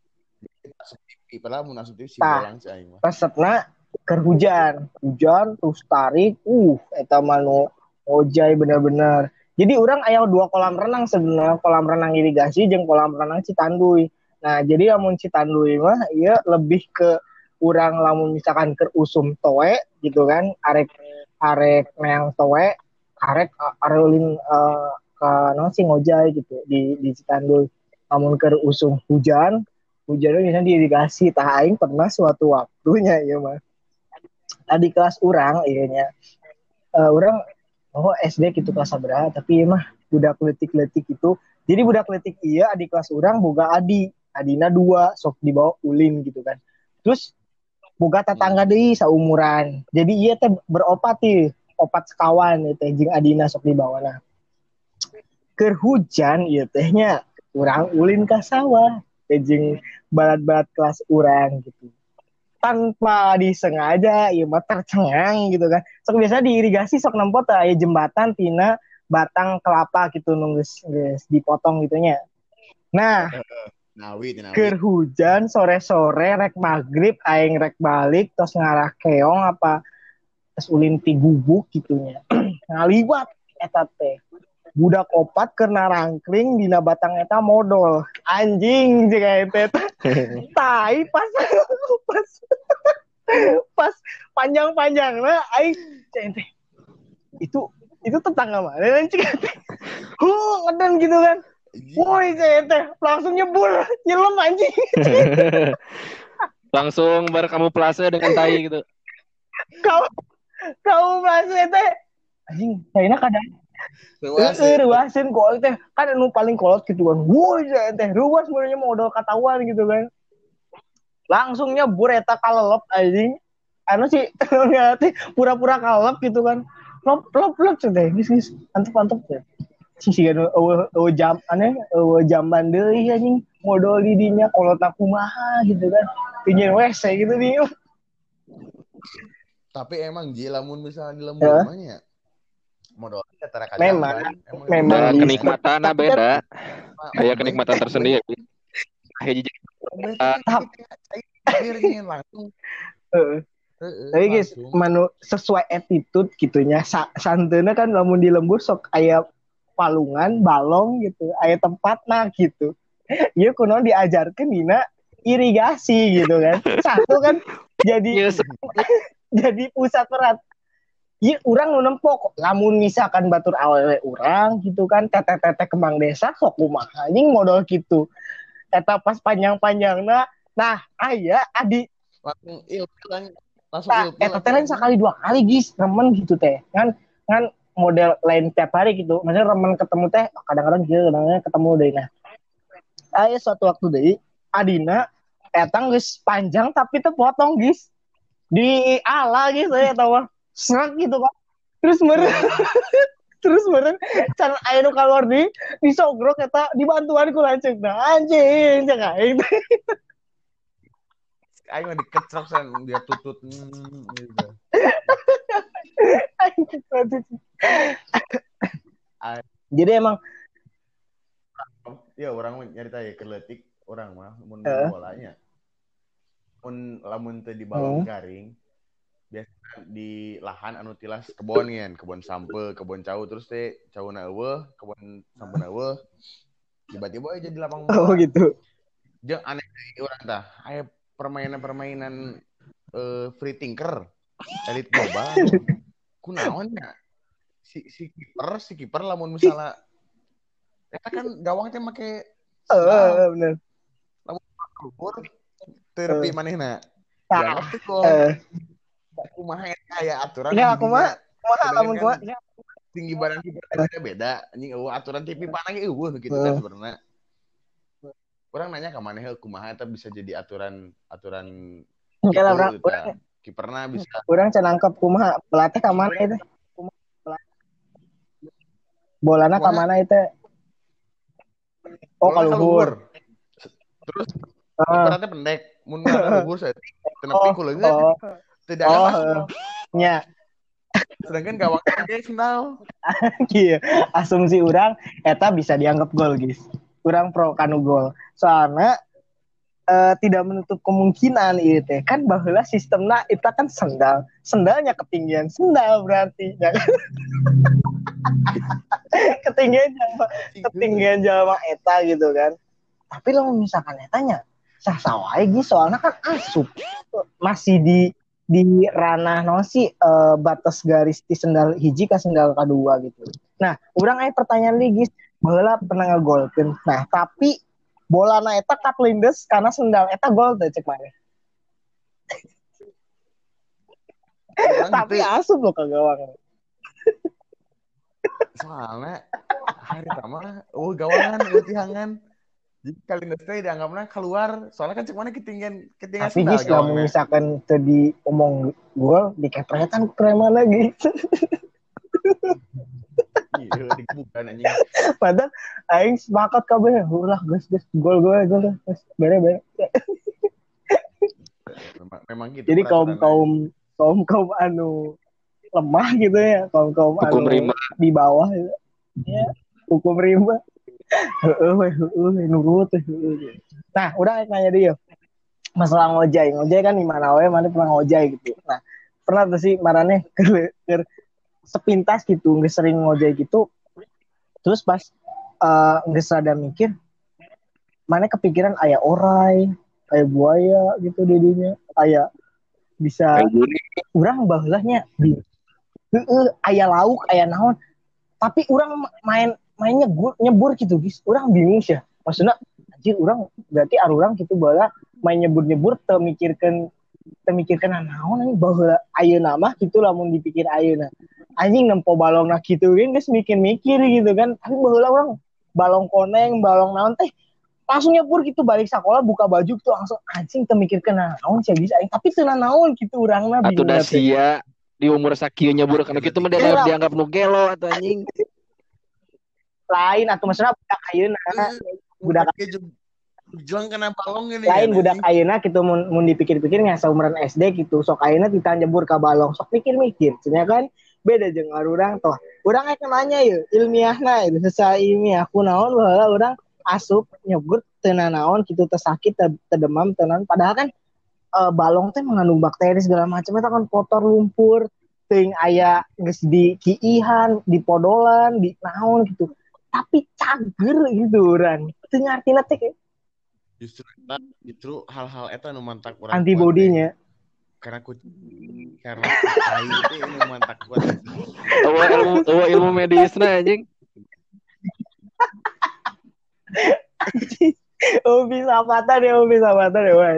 sepi padahal mun asup si bolang si aing mah resepna keur hujan hujan terus tarik uh eta mah nu ojay bener-bener. Jadi urang aya dua kolam renang sebenarnya, kolam renang irigasi jeung kolam renang Citanduy. Nah jadi lamun Citanduy mah ieu lebih ke urang lamun misalkan keur usum toe gitu kan arek arek meang toe arek areuling uh, ka sih ngojay gitu di di Citanduy. Namun keur usum hujan, hujannya biasanya diirigasi. Tah aing pernah suatu waktunya ieu mah. Di kelas urang ieu nya. Uh, urang oh S D gitu kelas sabaraha tapi ieu mah budak leutik-leutik itu. Jadi budak leutik ieu di kelas urang boga adi. Adina dua sok dibawa ulin gitu kan. Terus boga tetangga deui saumuran. Jadi ieu teh beropat ieu, opat sekawan ieu teh jeung adina sok dibawana. Keur hujan ieu teh nya urang ulin ka sawah jeung balad-balad kelas urang gitu. Tanpa disengaja ieu mah tercengang gitu kan. Sok biasa diirigasi sok nempot aya jembatan tina batang kelapa gitu nu geus geus dipotong gitu nya. Nah, nawi nawi. Keur hujan sore-sore rek magrib aing rek balik tos ngarah keong apa tos ulin ti gubuk gitu nya. Ngaliwat eta teh. Budak opat kena rangkling dina batang eta modal anjing jeung eta tai pas pas pas panjang-panjangna aing teh itu itu tetangga mana dan cik teh huh ngeden gitu kan woi teh langsung nyebur nyelam anjing langsung berkamuflase dengan tai gitu kau kau kamuflase teh anjing taina kadang Heeh, ruasin kok teh kan anu paling kolot gitu kan. Woi teh ruas sebenarnya modal katawan gitu kan. Langsung nyebur eta kalelep anjing. Anu sih ngati pura-pura kalelep gitu kan. Lop lop lop teh geus geus antep-antep teh. Sisi anu eueuh jam aneh eueuh jamban deui anjing modal di dinya kolotna kumaha gitu kan. Pinjeun W C gitu nih. Tapi emang ji lamun misalnya di lembur mah nya modal memang memang kenikmatan beda. Kayak kenikmatan tersendiri. Hiji langsung. Tapi guys, manu sesuai attitude gitunya. Sa- santena kan lamun di lembur sok aya palungan, balong gitu, aya tempatna gitu. Ieu kunaon diajarkeun dina irigasi gitu kan. Satu kan jadi jadi pusat peran. Ieu urang nu nempok, lamun misalkan batur awewe urang gitu kan, teteh-teteh kembang desa sok kumaha anjing modal gitu. Eta pas panjang-panjangna, nah aya adi langsung ilfil kan langsung nah, ilfil. Eta teh lain sekali dua kali guys, remen gitu teh. Kan kan model lain tiap hari gitu. Maksudnya remen ketemu teh kadang-kadang gitu, kadang-kadang ketemu deui nah. Aya suatu waktu deui adina eta geus panjang tapi teu potong guys. Di ala gitu ya tahu mah. Serak gitu kan. Terus meureun terus meureun can aya nu kalor di disogrok eta dibantuan ku lanceukna. Anjing cek aing. Aing mah dikecrok san dia tutut hmm, gitu. Jadi emang ya orang nyarita ya keletik orang mah mun uh. bolanya. Mun lamun teu di balong uh. garing biasa di lahan anu tilas kebon ngen, kebon sampe, kebon cau terus teh cauna eueuh, kebon sampena eueuh. Tiba-tiba aja di lapang bola. Oh gitu. Jeung aneh deui urang tah, aya permainan-permainan uh, free thinker elit global kunaon ya si si kiper si kiper lamun misalnya eta kan gawang teh make heeh bener lamun kubur terpi manehna dianggap teh gol kumaha aya aturan ya kumaha kumaha lamun kumaha tinggi badan kiper teh beda anjing eueuh aturan T V panah ge eueuh kitu kan sebenarnya. Orang nanya ke mana kumaha eta bisa jadi aturan aturan gitu, orang, orang kiperna bisa orang can nangkep kumaha pelatih ka mana itu bolana ka mana itu oh ka luhur terus kiperna pendek mun ngana luhur saya tenepi ku leungit tidak ada masuk nya sedangkan gawangnya ge final kieu asumsi urang eta bisa dianggap gol guys. Kurang pro kanu gol. Soalnya uh, tidak menutup kemungkinan itu teh kan baheula sistemna itu kan sendal. Sendalnya ketinggian sendal berarti. ketinggian jalma, ketinggian jalma eta gitu kan. Tapi lo misalkan etanya sah sawae ge soalnya kan asup masih di di ranah non sih uh, batas garis di sendal hiji ka sendal kadua gitu. Nah, urang aya pertanyaan lagi guys. Bola pernah ngegolkeun. Nah, tapi bola na eta kat lindes karena sendal eta gol teh cek mana. Tapi gitu. Asup lo ke gawang. Soalnya hari pertama oh gawangan latihan. Jadi kali lindes teh dianggapna keluar. Soalnya kan cek mana ketinggian ketinggian tapi sendal. Tapi kalau misalkan tadi omong gol dikepretan keren lagi. Iya, dibukan anjing. Padahal aing sepakat kabeh, ulah geus geus gol gol gol geus bere-bere. Memang, memang gitu. Jadi kaum-kaum kaum-kaum anu lemah gitu ya, kaum-kaum anu rimba. Di bawah gitu. Ya, hukum rimba. Heeh we, heeh nurut heeh. Nah, udah nanya dia. Masalah ngojay, ngojay kan di mana we, mana pernah ngojay gitu. Nah, pernah tuh sih marane ke sepintas gitu, nggak sering ngojay gitu. Terus pas uh, nggak sadar mikir, mana kepikiran ayah orai, ayah buaya gitu didinya, ayah bisa, urang bahulahnya, uh, ayah lauk, ayah naon, tapi urang main mainnya nyebur, nyebur gitu, guys, urang bingung sih, maksudnya, anjir urang berarti arurang gitu bala main nyebur nyebur, temikirkan temikirkan naon, ini bahula ayah nama gitu, lamun dipikir ayah anjing nempo balong nak gitu kan guys mikir-mikir gitu kan tapi baheula orang balong koneng balong naon teh langsung nyebur gitu balik sekolah buka baju tuh langsung anjing teu mikirkeun naon sih guys tapi teu naon gitu urangna bingung atuh da sia di umur sakieu nyebur kana kitu mah dianggap nu gelo atuh anjing lain atuh maksudna budak ayeuna budak juang kena balong ini lain kan, budak ayeuna gitu mun, mun dipikir-pikir nya saumuran S D gitu sok ayeuna kita nyebur ka balong sok mikir-mikir cenah kan beda jeung arurang toh Urang aya nanya ya ilmiahna itu secara ilmiah kunaon baheula urang asup nyogut teu nanaon kitu teu sakit teu demam teu naon padahal kan uh, balong teh mengandung bakteri segala macam eta kan kotor lumpur teuing aya geus di kiihan di podolan di naon gitu tapi cager gitu urang teu ngartina teh justru eta justru hal-hal eta nu mantak urang antibodinya karena kucing karena tai itu nu mantak kuat eueuh ilmu eueuh ilmu medisna anjing oh bisa patah deh oh bisa patah deh wah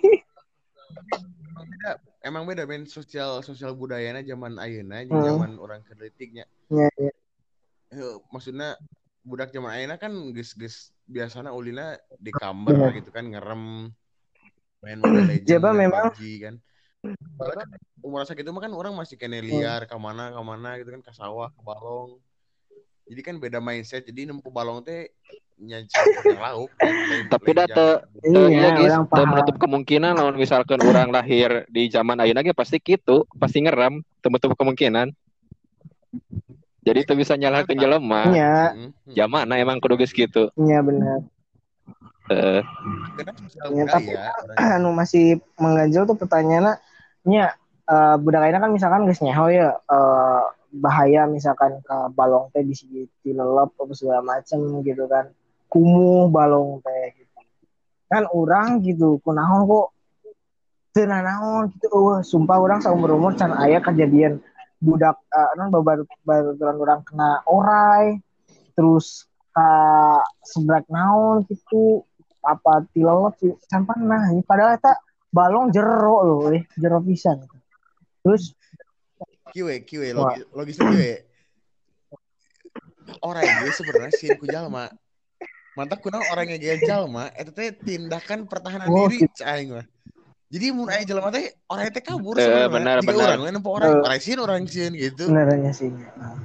emang beda men sosial sosial budayana zaman ayeuna jeung hmm. zaman orang kelitiknya ya, ya. Maksudnya budak zaman ayeuna kan geus-geus biasana ulina di kamar gitu kan ngerem main Mobile Legends Jaba memang P U B G kan umur sakitu mah kan orang masih kene liar ka mana ka mana gitu kan ka sawah ke balong jadi kan beda mindset jadi nempu balong teh nyanyi lauk tapi data iya guys teu menutup kemungkinan lamun misalkan orang lahir di zaman ayeuna ge pasti kitu pasti ngeram teu menutup kemungkinan jadi teu bisa nyalahkeun jelema nya zamanna emang kudu geus kitu iya benar heeh uh, ya, tapi anu masih mengganjal tuh pertanyaannya nya uh, budak ayeuna kan misalkan geus nyaho ya uh, bahaya misalkan ke balong teh bisa dilelep atau segala macam gitu kan kumuh balong teh gitu kan orang gitu kunaon kok teu nanaon gitu eueuh sumpah orang saumur umur can aya kejadian budak uh, non babar baruran orang kena orai terus ka seblak naon gitu apa tilelep can pernah padahal eta balong jero loh eh jero pisan terus kiwe kiwe logis logis kiwe orang itu sebenarnya sih ku jalma mantap kunaon orang yang jalma eta teh tindakan pertahanan oh, diri gitu. Aing mah jadi mun aya jalma teh orang teh kabur sebenarnya jika orang we nempo orang orang sieun orang sieun gitu benernya sih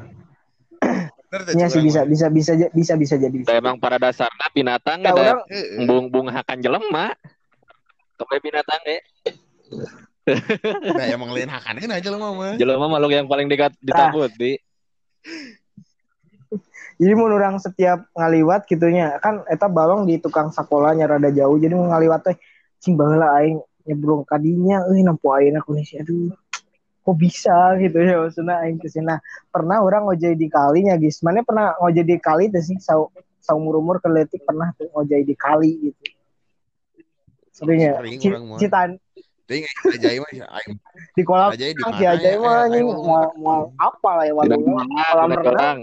Iya sih bisa, bisa bisa bisa bisa bisa jadi. Emang pada dasarnya binatang ada orang... bung-bung hakan jelema. Kepe binatang ge. Nah emang lain hakannya aja jelema mah. Jelema makhluk yang paling dekat ditakuti. Jadi mun orang setiap ngaliwat gitunya kan eta balong di tukang sakolanya rada jauh jadi mun ngaliwat teh cing baheula aing nyebrong ka dinya euy nampu ayeuna kondisi aduh kok bisa gitu ya maksudnya aing kesina pernah orang ngojay di kalinya guys mana pernah ngojay di kali tuh sih sau saumur-umur keletik pernah tuh ngojay di kali gitu seringnya citan ting ajaib mah aing di kolam ajaib di ajaib mah anjing mau mau apa lah ya waduh kolam renang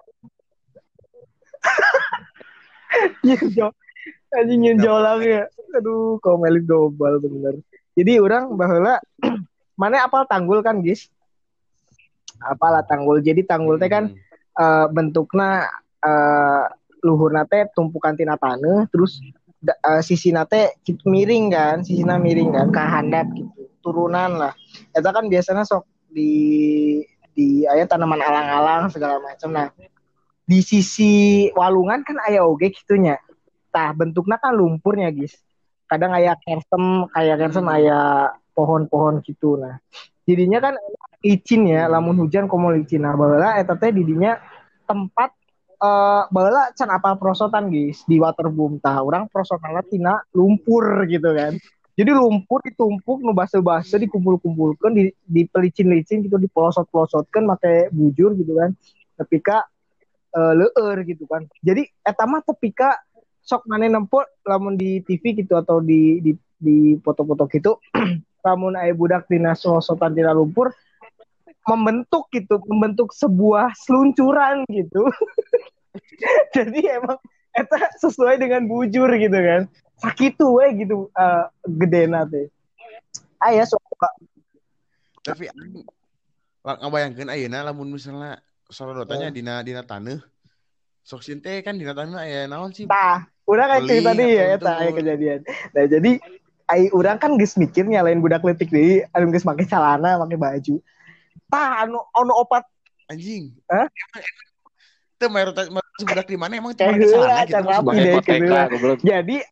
nyenjol anjing nyenjol lagi ya aduh kau melik dobal bener jadi orang baheula mana apal tanggul kan guys apalah tanggul jadi tanggul teh kan hmm. uh, bentukna uh, luhurna teh tumpukan tina taneuh terus uh, sisina teh miring kan sisina miring kan ka handap gitu turunan lah eta kan biasanya sok di di aya tanaman alang-alang segala macam nah di sisi walungan kan aya oge gitunya tah bentukna kan lumpurnya guys kadang aya kersem kayak kersem aya pohon-pohon gitu nah jadinya kan licin ya lamun hujan komo licin nah baheula eta teh didinya tempat uh, baheula can apal prosotan guys di waterboom tah urang prosotanna tina lumpur gitu kan jadi lumpur ditumpuk nu base-base dikumpul-kumpulkeun di di pelicin-licin gitu dipelosot-pelosotkeun make bujur gitu kan tapi ka uh, leueur gitu kan jadi eta mah tepika sok maneh nempel lamun di T V gitu atau di di di foto-foto gitu lamun aya budak dina sosotan tina lumpur membentuk gitu membentuk sebuah seluncuran gitu jadi emang eta sesuai dengan bujur gitu kan sakitu we gitu uh, gedena teh aya sok tapi ngabayangkeun ayeuna lamun misalnya sorodotannya dina dina taneuh sok sin teh kan dina taneuh aya naon sih tah urang kan cerita tadi ya eta aya kejadian nah jadi ai urang kan geus mikir nyalain budak leutik deui anu geus make celana make baju tah anu anu opat anjing hah teu mayoritas budak di mana emang cuma make celana gitu sebagai koteka goblok jadi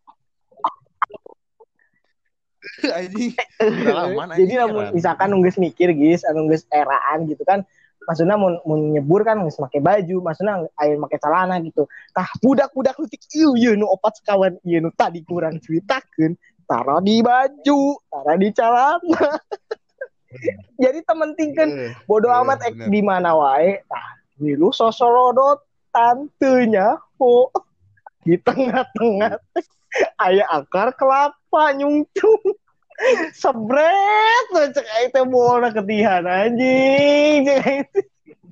anjing jadi lamun misalkan anu geus mikir geus anu geus eraan gitu kan maksudnya mau, mau nyebur kan geus make baju, maksudnya aya make celana gitu. Tah budak-budak leutik ieu ieu nu opat sekawan ieu nu tadi kurang ceritakeun, taruh di baju, taruh di celana. Jadi tementingkeun bodo amat ek di mana wae. Tah, lu sosorodot tantenya ho di tengah-tengah aya akar kelapa nyungcung. Sebret cek aing teh bola ketihan anjing cek aing teh.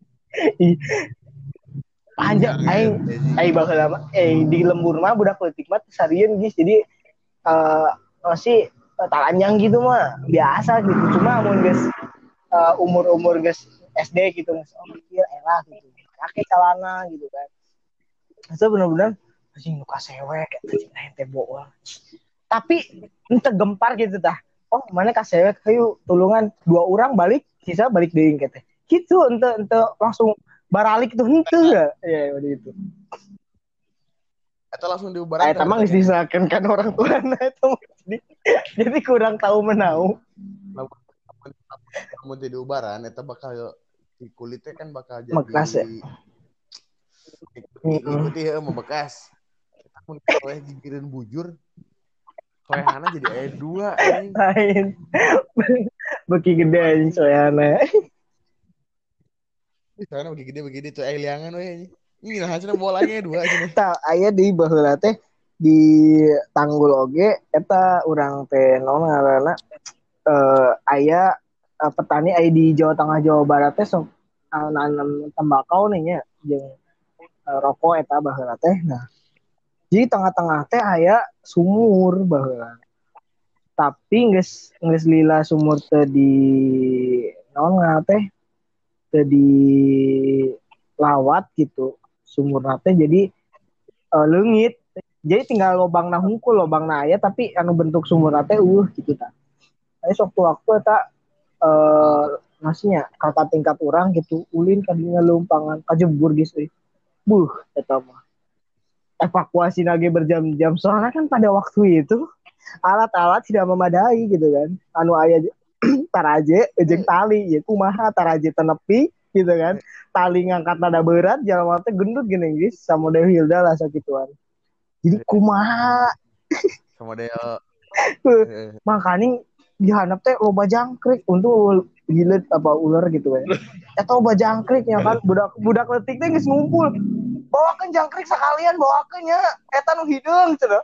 Panjang aing aing baheula mah eh di lembur mah budak leutik mah sarieun geus jadi eh uh, masih uh, talanjang gitu mah biasa gitu cuma mun geus uh, umur-umur geus S D gitu geus oh kieu elah gitu. Pakai celana gitu kan. Itu bener-bener anjing nu kasewek eta aing teh bool. Tapi ente gempar gitu tah. Oh, mana kasewek hayu tulungan dua orang balik, sisa balik deui teh. Gitu ente ente langsung baralik tuh henteu ya. Ya begitu. Eta langsung diubaran. Eta mah geus diserahkeun kan orang tuana eta. Jadi, jadi kurang tahu menau. Lamun di ubaran eta bakal di kulitnya kan bakal jadi bekas ya. Ikuti heuh membekas. Mun kowe gigireun bujur soehana jadi ayat dua lain beki gede anjing soehana soehana beki gede begini tuh ayat liangan we ini nah hasilnya bolanya dua aja tah aya di baheula teh di Tanggul oge eta urang teh naon ngaranna eh aya uh, petani aya di Jawa Tengah Jawa Barat teh sok uh, nanam tembakau nih nya jeung uh, rokok eta baheula teh nah jadi tengah-tengah teh aya sumur baheula. Tapi geus geus lila sumur teh di naon ngaranna teh teh di lawat gitu. Sumurna teh jadi uh, leungit. Jadi tinggal lobangna hungkul, lobangna aya tapi anu bentuk sumurna teh eueuh gitu tah. Aya sok waktu eta eh masnya kakak tingkat urang gitu ulin ka dinya leumpangan kajebur geus euy. Buh eta mah. Evakuasi lagi berjam-jam soalnya kan pada waktu itu alat-alat tidak memadai gitu kan anu aya taraje jeung tali ya kumaha taraje tenepi gitu kan tali ngangkat nada berat jalan teh gendut gini guys sama model Hilda lah sakituan jadi kumaha sama model makanya di handap teh loba jangkrik untuk gilet apa ular gitu kan eta loba jangkrik ya kan budak budak leutik teh geus ngumpul bawakeun jangkrik sekalian bawakeun nya eta nu hideung cenah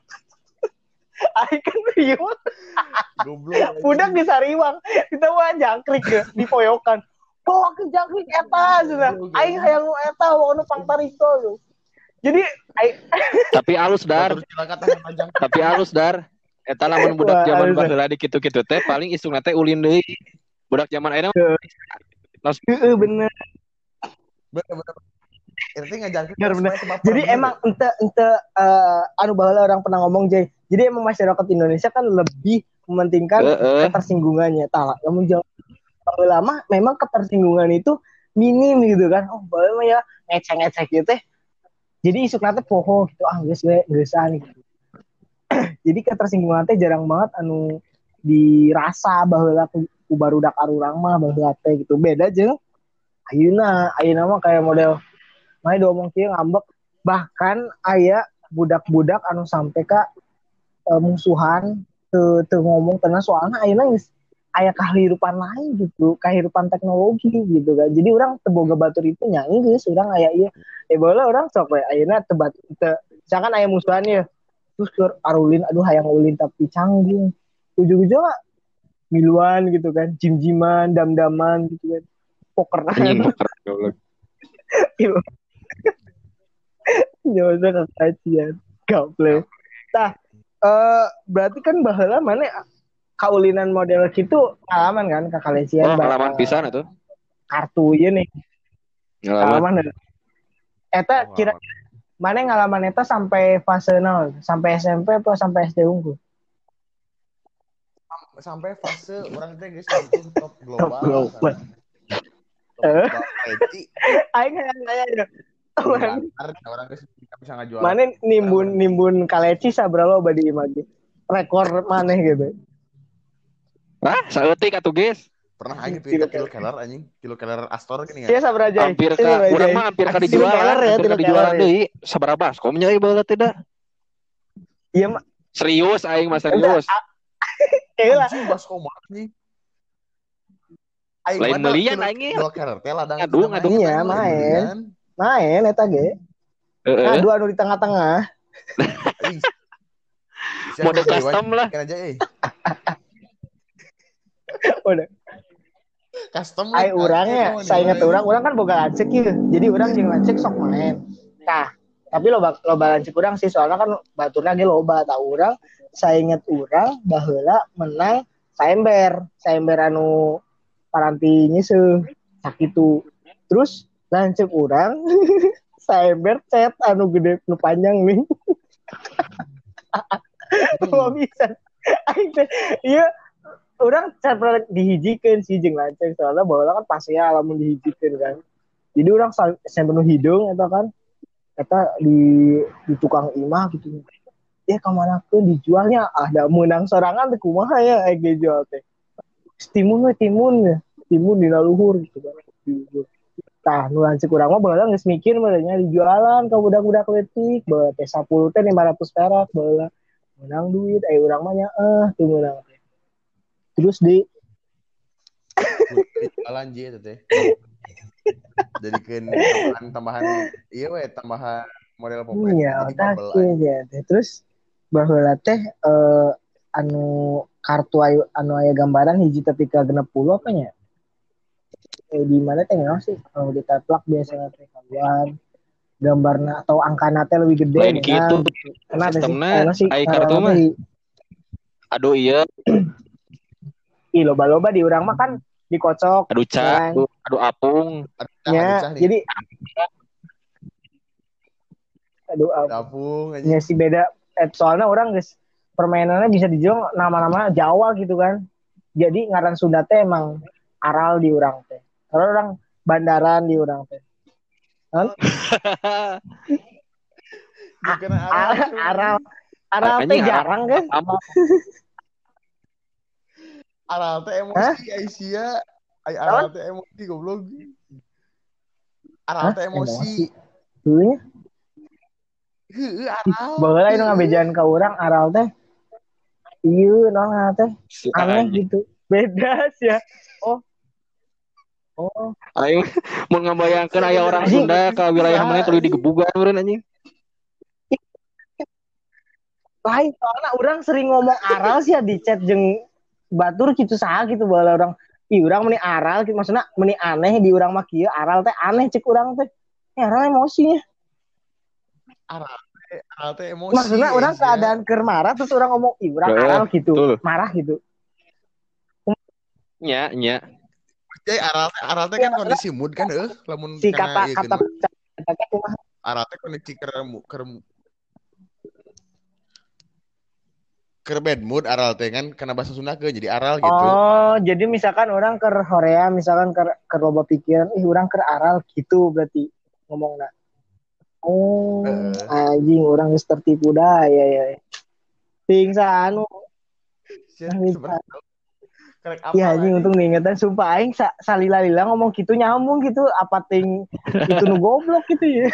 aing kan rieu goblok budak di sariwang kita mah jangkrik ge di poyokan bawakeun jangkrik eta cenah aing hayang nu eta bawa nu pangtariko jadi aing tapi alus dar tapi alus dar eta lamun budak zaman baheula di kitu-kitu teh paling isungna teh ulin deui budak zaman ayeuna heeh bener bener bener jadi emang ente ente uh, anu baheula orang pernah ngomong Jay jadi emang masyarakat Indonesia kan lebih mementingkan uh, uh. ketersinggungannya tah namun baheula mah memang ketersinggungan itu minim gitu kan oh baheula ya ngecek-ngecek gitu teh jadi isukna teh poho gitu ah geus we geusan gitu jadi ketersinggungan teh jarang banget anu dirasa baheula ku barudak arurang mah baheula teh gitu beda jeung ayeuna ayeuna mah kayak model mah diomong kieu ngambek bahkan aya budak-budak anu sampai ka e, musuhan teu teu ngomong tenan soalna ayeuna geus aya kahirupan lain gitu kahirupan teknologi gitu kan jadi urang teu boga batur itu nya geus urang aya ieu eh baheula urang sok we ayeuna teu teu misalkan aya musuhan ieu terus keur arulin aduh hayang ulin tapi canggung ujug-ujug miluan gitu kan jim-jiman dam-daman gitu kan pokeran nyoba kekacian gaple tah uh, berarti kan baheula mana kaulinan model gitu ngalaman kan kakalesian oh, ngalaman pisan atuh kartu ieu nih ngalaman eta kira mana ngalaman eta sampai fase nol sampai S M P apa sampai S D unggul sampai fase orang teh geus untuk top global top global eh aing aya orang bisa ngajual. Mana nimbun nimbun kaleci saberapa badi image rekor maneh gitu. Wah, saeutik atuh geus. Pernah aing tuh kilo keler anjing, kilo keler Astor gini ya. Iya sabar aja. Hampir ka urang mah hampir ka dijual, hampir ka dijual deui. Sabaraha baskom nya ieu baheula teh da. Iya mah serius aing mah serius. Kayaknya anjing baskom anjing. Aing lain melian aing kilo keler teh ladang. Ngadu ngadu iya main. Main eta ge. Ngadu anu di tengah-tengah. Mode custom lah. Kan aja eh. Udah. Custom ai urangnya saya ingat orang orang kan boga lancek ya jadi orang jeung lancek sok main tah tapi loba loba lancek urang sih soalnya kan baturna ge loba tah urang saya ingat urang baheula menang saember saember anu paranti nyeuseum sakitu terus lancek urang saember cet anu gede nu panjang nih kok bisa aing ieu orang pernah dihijikeun sih jeung lanceng soalnya baheula kan pasti ya lamun dihijikeun kan. Jadi orang sampe nu hidung eta kan eta di di tukang imah gitu. Ya kamanakeun dijualnya ah da meunang sorangan teh kumaha ya aya jual teh. Timun we timun ya. Timun dina luhur gitu kan. Tah nu lanceng urang mah baheula geus mikir baheula dijualan ka budak-budak leutik bae teh sepuluh teh lima ratus perak baheula. Menang duit aya urang mah nya eh teu meunang. Terus di jualan J itu teh. Jadikan tambahan tambahan iya we tambahan model populasi. Iya, otak ya. Terus baheula teh eh, anu kartu ayu anu aya gambaran hiji ketika genep puluh apa nya? Eh di mana teh nyaho sih? Kalau di teplak biasanya teh kawan gambarna atau angkana teh lebih gede lain kitu. Sistemna ai kartu mah. Aduh iya. Ih loba-loba di urang mah kan dikocok. Aduh cah, aduh, aduh apung. Ya, jadi aduh apung. Ya si beda eh, soalnya orang guys permainannya bisa dijual nama-nama Jawa gitu kan. Jadi ngaran Sunda teh emang aral di urang teh. Kalau orang bandaran di urang teh. Kan? aral aral aral teh jarang kan? Aral teh emosi Aisyah. Ai aral teh emosi goblok. Aral teh emosi. Heuh. Heuh aral. Baheula anu ngabejan ka urang aral teh. Ieu naon teh? Aneh gitu. Beda sih ya. Oh. Oh. Aing mun ngabayangkeun aya orang Sunda ka wilayah mana tuluy digebugan meureun anjing. Lain soalnya orang sering ngomong aral sih ya di chat jeung batur gitu saha gitu baheula orang ih urang meni aral gitu maksudna meni aneh di urang mah kieu aral teh aneh cek urang teh ya, aral emosinya aral teh aral teh emosi maksudna urang keadaan keur marah terus urang ngomong ih urang aral gitu betul. Marah gitu nya nya jadi aral aral teh kan kondisi mood kan eueuh lamun si kata kata kata kumaha aral teh kondisi keur keur keur bad mood aral teh kan karena bahasa Sunda ke jadi aral gitu. Oh, jadi misalkan orang keur horea, misalkan keur keur loba pikiran, ih urang keur aral gitu berarti ngomongna. Oh, uh. anjing urang geus tertipu da ya ya. Ting sa anu. Iya anjing untung diingetan sumpah aing sa, salila-lila ngomong gitu nyambung gitu apa ting itu nu goblok gitu ya.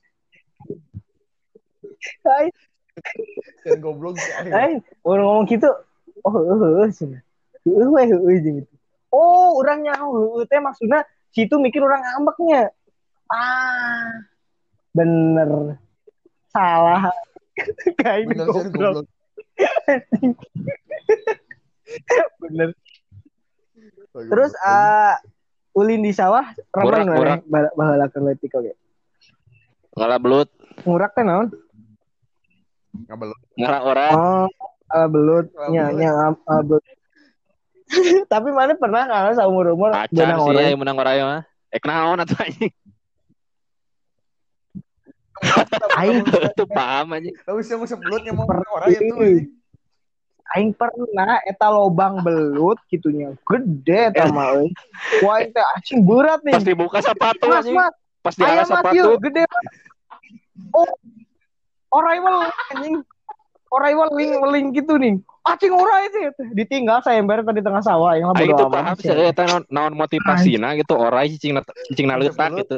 Hai. Dan goblok sih. Eh, orang ngomong gitu. Oh, heuh cenah. Heuh we heuh gitu. Oh, urang nyaho heuh teh maksudna situ mikir orang ngambeknya. Ah. Bener. Salah. Kayak goblok. Bener. Terus uh, ulin di sawah ramai mana baheula keur leutik oge. Ngala belut. Ngurak teh naon? Ngabelut. Ngarak orang. Oh, uh, belut. Nya nya uh, belut. Tapi mana pernah kan saumur-umur benang orang. Pacar sih menang orang mah. Eh naon atuh anjing. Aing tuh paham anjing. Tapi sih musuh belutnya mau orang itu anjing. Aing pernah eta lobang belut gitunya. Gede eta mah euy. Wah teh anjing berat nih. Pas dibuka sepatu anjing. Pas dialas sepatu gede. Oh. Orang mah anjing. Orang weling-weling gitu nih. Acing orang itu ditinggal saya ember tadi tengah sawah yang bodo amat. Itu paham sih eta naon motivasina gitu orang cicing cicing naletak gitu.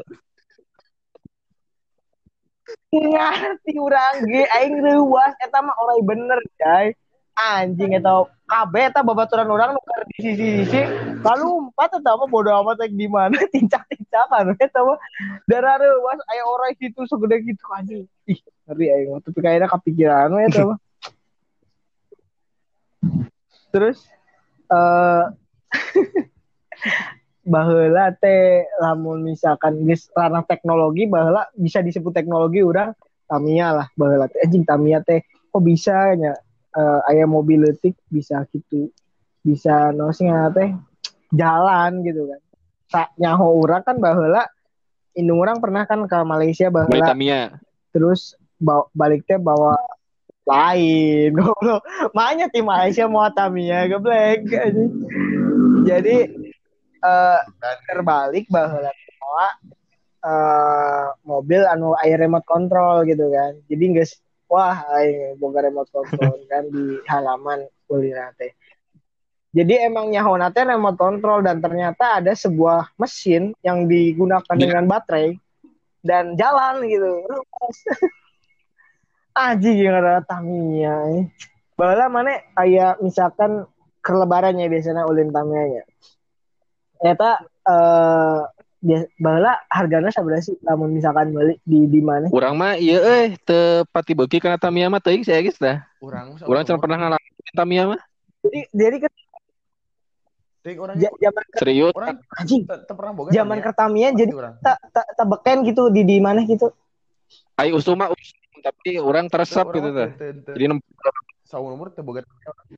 Ngerti urang ge aing leuwas eta mah orang bener guys. Anjing eta kabeh eta babaturan urang nu keur di sisi-sisi lalu empat eta mah bodo amat rek di mana tincak-tincakan eta mah darah leuwas aya orang situ segede gitu anjing. Ih, ngeri aing mah tapi kayaknya kepikiran we eta mah. Terus eh uh, baheula teh lamun misalkan geus ranah teknologi baheula bisa disebut teknologi urang Tamiya lah baheula teh anjing Tamiya teh kok bisa nya uh, aya mobil leutik bisa gitu bisa nosnya teh jalan gitu kan sa nyaho urang kan baheula indung urang pernah kan ke Malaysia baheula Tamiya terus bawa, balik teh bawa lain goblok makanya tim Malaysia mau Tamiya geblek jadi uh, terbalik baheula bawa uh, mobil anu aya remote control gitu kan jadi geus wah aing boga remote control kan di halaman kulina teh jadi emang nyahona teh remote control dan ternyata ada sebuah mesin yang digunakan yeah. dengan baterai dan jalan gitu aji yang ada Tamiya baheula mana aya misalkan ke lebarannya biasanya ulin Tamiya nya eta eh uh, baheula hargana sabaraha sih lamun misalkan beli di di mana urang mah ieu euy teu pati beuki kana Tamiya mah teuing saya geus tah urang urang can pernah ngalamin Tamiya mah jadi jadi kan ja, zaman serius orang anjing teu pernah boga zaman ke Tamiya jadi tak tak ta beken gitu di di mana gitu ai usum mah tapi orang teresap gitu tah. Jadi saumur umur teu boga.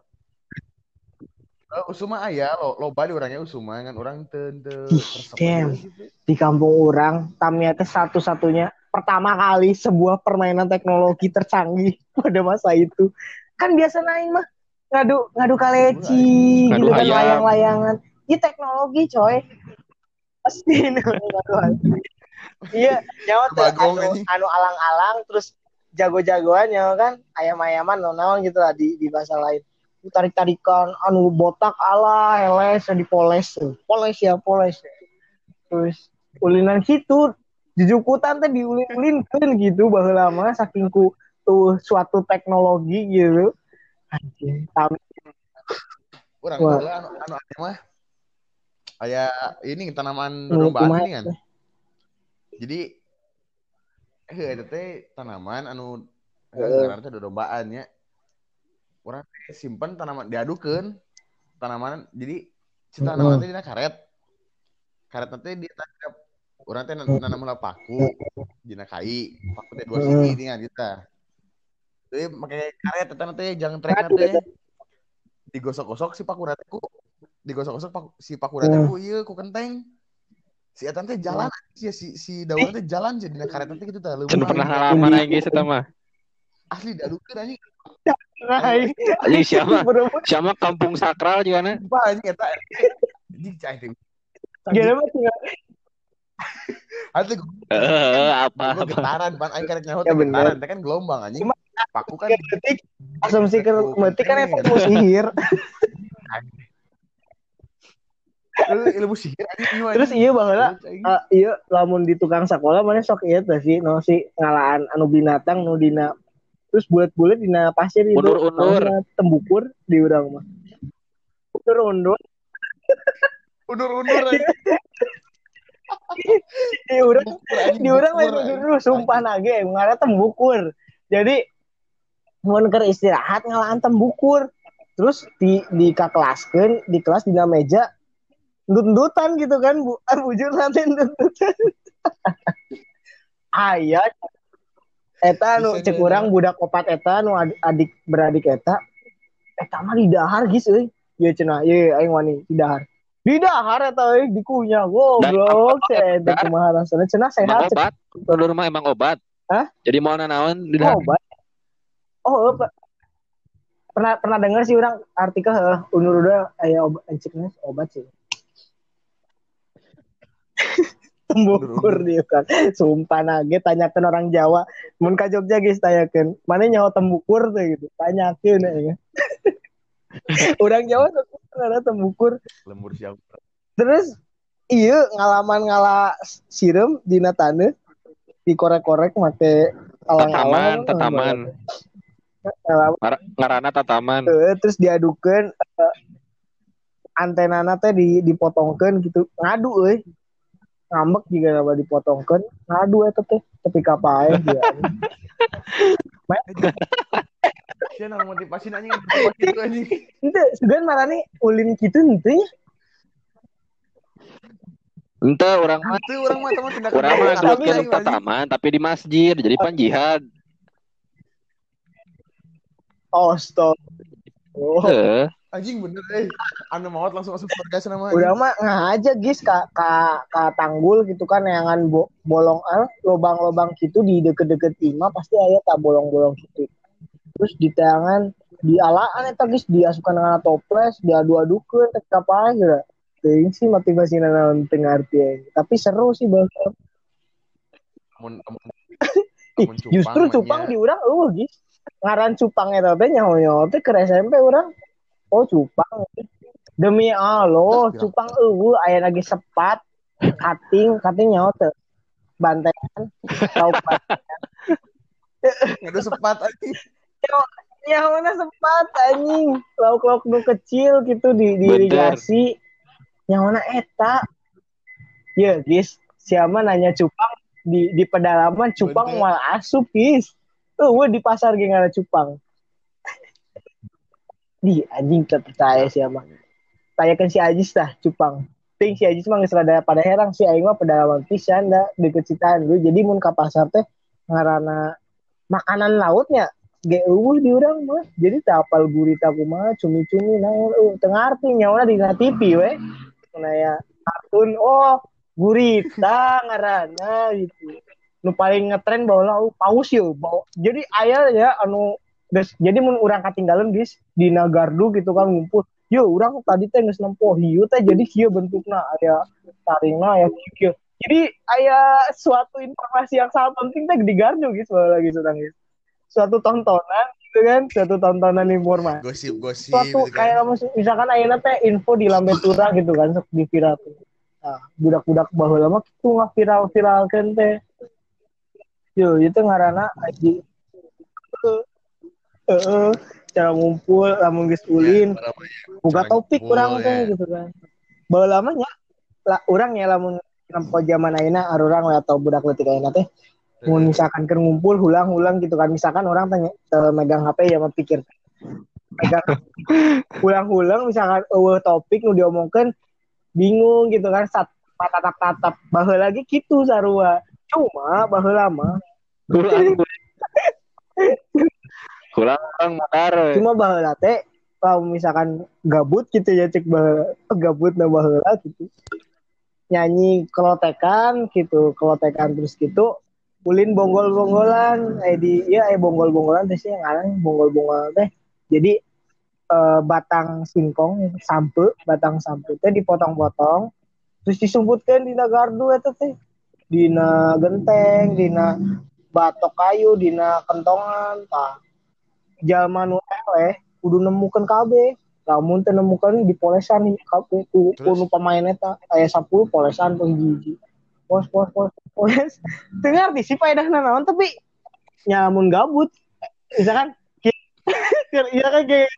Uh, usuma aya lo loba di urangnya usuma ngan urang teu teu teresap gitu. Di kampung urang Tamiya teh satu-satunya pertama kali sebuah permainan teknologi tercanggih pada masa itu. Kan biasa naik mah ngadu ngadu kaleci gitu kan layang-layangan. Ini teknologi coy. Pasti ngadu. Iya, nyawa teh anu, anu alang-alang terus jago-jagoan ya kan ayam-ayaman naon gitu lah di di bahasa lain tarik-tarikan anu botak ala heles dipoles poles ya poles terus ulinan gitu jujukutan teh diulin-ulinkeun gitu baheula mah saking ku tuh suatu teknologi gitu anjing tapi urang baheula anu anu mah aya ini tanaman dombaan ini kan jadi heh eta teh tanaman anu ngaranna teh dodombaan nya. Urang teh simpen tanaman diadukeun tanaman jadi si tanaman teh dina karet. Karet teh di urang teh nanam heula paku dina kai, paku teh dua siji nya gitu. Jadi make karet eta teh jangan trek teh digosok-gosok si paku rateku. Digosok-gosok paku, si paku rateku ieu ku kenteng. Si eta teh jalan si si, si daun teh jalan jadi dina karet teh gitu tah leumpah. Can pernah ngalaman aing geus eta mah. Asli diadukeun anjing. Anjing siapa? Siapa kampung sakral juga na? Wah anjing eta. Anjing cai teh. Gimana mah tinggal. Atuh heeh apa apa getaran pan aing karek nyaho teh getaran teh kan gelombang anjing. Paku kan detik asumsi ke metik kan eta sihir. Ilmu sihir anjing. Terus iya baheula uh, iya lamun di tukang sakola mana sok ieu teh sih no si ngalaan anu binatang nu dina terus bulat-bulat dina pasir itu undur-undur tembukur di urang mah. Undur-undur. Undur-undur. Di urang di urang lain undur sumpah nage ngara tembukur. Jadi mun keur istirahat ngalaan tembukur. Terus di di kakelaskeun di kelas dina meja ndut-ndutan gitu kan bu bujur nanti ndut-ndutan aya eta nu cek urang budak opat eta nu adik beradik eta eta mah di dahar geus euy ieu cenah ieu aing wani di dahar di dahar eta euy dikunyah goblok eta kumaha rasana cenah sehat obat ulur mah emang obat hah jadi mau naon di dahar obat oh obat pernah pernah dengar sih urang artikel heuh unur-unur aya obat cekna obat sih tembukur dia kan sumpah nage tanyakan orang Jawa Mun ka Jogja geus tanyakeun, mana nyaho tembukur teh gitu. Tanyakeun ya. Urang Jawa tuh ada tembukur. Lembur siapa? Terus iya ngalaman ngala sireum dina taneuh dikorek-korek make alang-alang. Tataman, tataman. Ngaranna tataman. Uh, terus diadukeun uh, antenana teh di dipotongkeun gitu. Ngadu euy. Ngambek juga apa dipotongkeun. Ngadu eta teh tepi ka paeh dia. Siapa yang motivasi nanya motivasi itu anjing. Ente, segan marane ulin kitu henteu nya. Ente orang mah itu orang mah teman tindakan orang mah geluskeun tataman tapi di masjid jadi pan jihad. Oh, stop. Oh. Heeh. Anjing bener eh. Anu maot langsung masuk surga cenah mah. Udah mah ngahaja geus ka ka ka tanggul gitu kan yangan bo, bolong al lobang-lobang gitu di deket-deket imah pasti aya ta bolong-bolong gitu. Terus di tangan di alaan eta geus diasukan dengan toples, diadu-adukeun teh ka paeh geura. Teuing sih motivasina naon teu ngarti. Tapi seru sih bang. Mun justru cupang di urang eueuh geus. Ngaran cupang eta teh nyaho-nyaho teh ke S M P urang. Oh cupang. Demi Allah, cupang eueuh aya lagi sepat, kating, kating nyaho teh. Bantengan, lauk bantengan. Ngadu sepat anjing. Nyaho-na sepat anjing. Lauk-lauk nu kecil gitu di diirigasi. Nyaho-na eta. Ya, guys, siapa nanya cupang di di pedalaman cupang moal asup, guys. Eueuh di pasar ge ngaranna cupang. Di anjing tak percaya siapa. Tanyakan si Ajis dah cupang. Ting si Ajis mah geus rada pada herang si aing mah pedalaman pisan da deket Citaan dulu. Jadi mun ka pasar teh ngaranna makanan lautnya ge eueuh di urang mah. Jadi teu apal gurita kumaha cumi-cumi naon eueuh teu ngarti nyaona dina T V we. Nah ya kartun oh gurita ngaranna gitu. Nu paling ngetren baheula oh, paus yeuh. Jadi aya ya anu des, jadi mun urang katinggalan guys di Nagardu gitu kan ngumpul. Yo urang tadi teh geus nempo hiu teh jadi kieu bentukna aya taringna aya kieu. Jadi aya suatu informasi yang sangat penting teh di Gardu guys lagi sedang guys. Suatu tontonan gitu kan, suatu tontonan informasi. Gosip-gosip suatu gitu kan. Kayak misalkan ayeuna teh info di Lambe Tura gitu kan sok di viral. Nah, budak-budak baheula mah kitu ngaviral-viralkeun teh. Yo itu ngaranna aji. Heeh, cara ngumpul lamun geus ulin. Ya, buka topik urang teh ya. Gitu kan. Baheula mah nya lah urang ya lamun nempo zaman ayeuna arurang atau budak leutik ayeuna teh mun misalkan keur ngumpul hulang-hulang gitu kan misalkan orang tanya megang H P ya mapikir megang hulang-hulang misalkan eueuh topik nu diomongkeun bingung gitu kan sat tatap-tatap baheula lagi kitu sarua cuma baheula mah Kulang orang motor. Cuma baheula teh kalau misalkan gabut gitu ya cek baheula gabut na baheula gitu. Nyanyi kelotekan gitu, kelotekan terus gitu. Ulin bonggol-bonggolan eh di ya eh bonggol-bonggolan teh sih ngaran bonggol-bonggolan teh. Jadi eh, batang singkong sampe, batang sampe teh dipotong-potong terus disumputkeun dina gardu eta teh. Dina genteng, dina batok kayu, dina kentongan, tah jalma nu eleh kudu nemukeun kabeh. Lamun teu nemukeun dipolesan kabeh ku nu pamain eta aya sepuluh polesan pun hiji. Pos pos pos poles. Teu ngarti sih faedahna naon tapi nyamun gabut. Misalkan iya kan kayak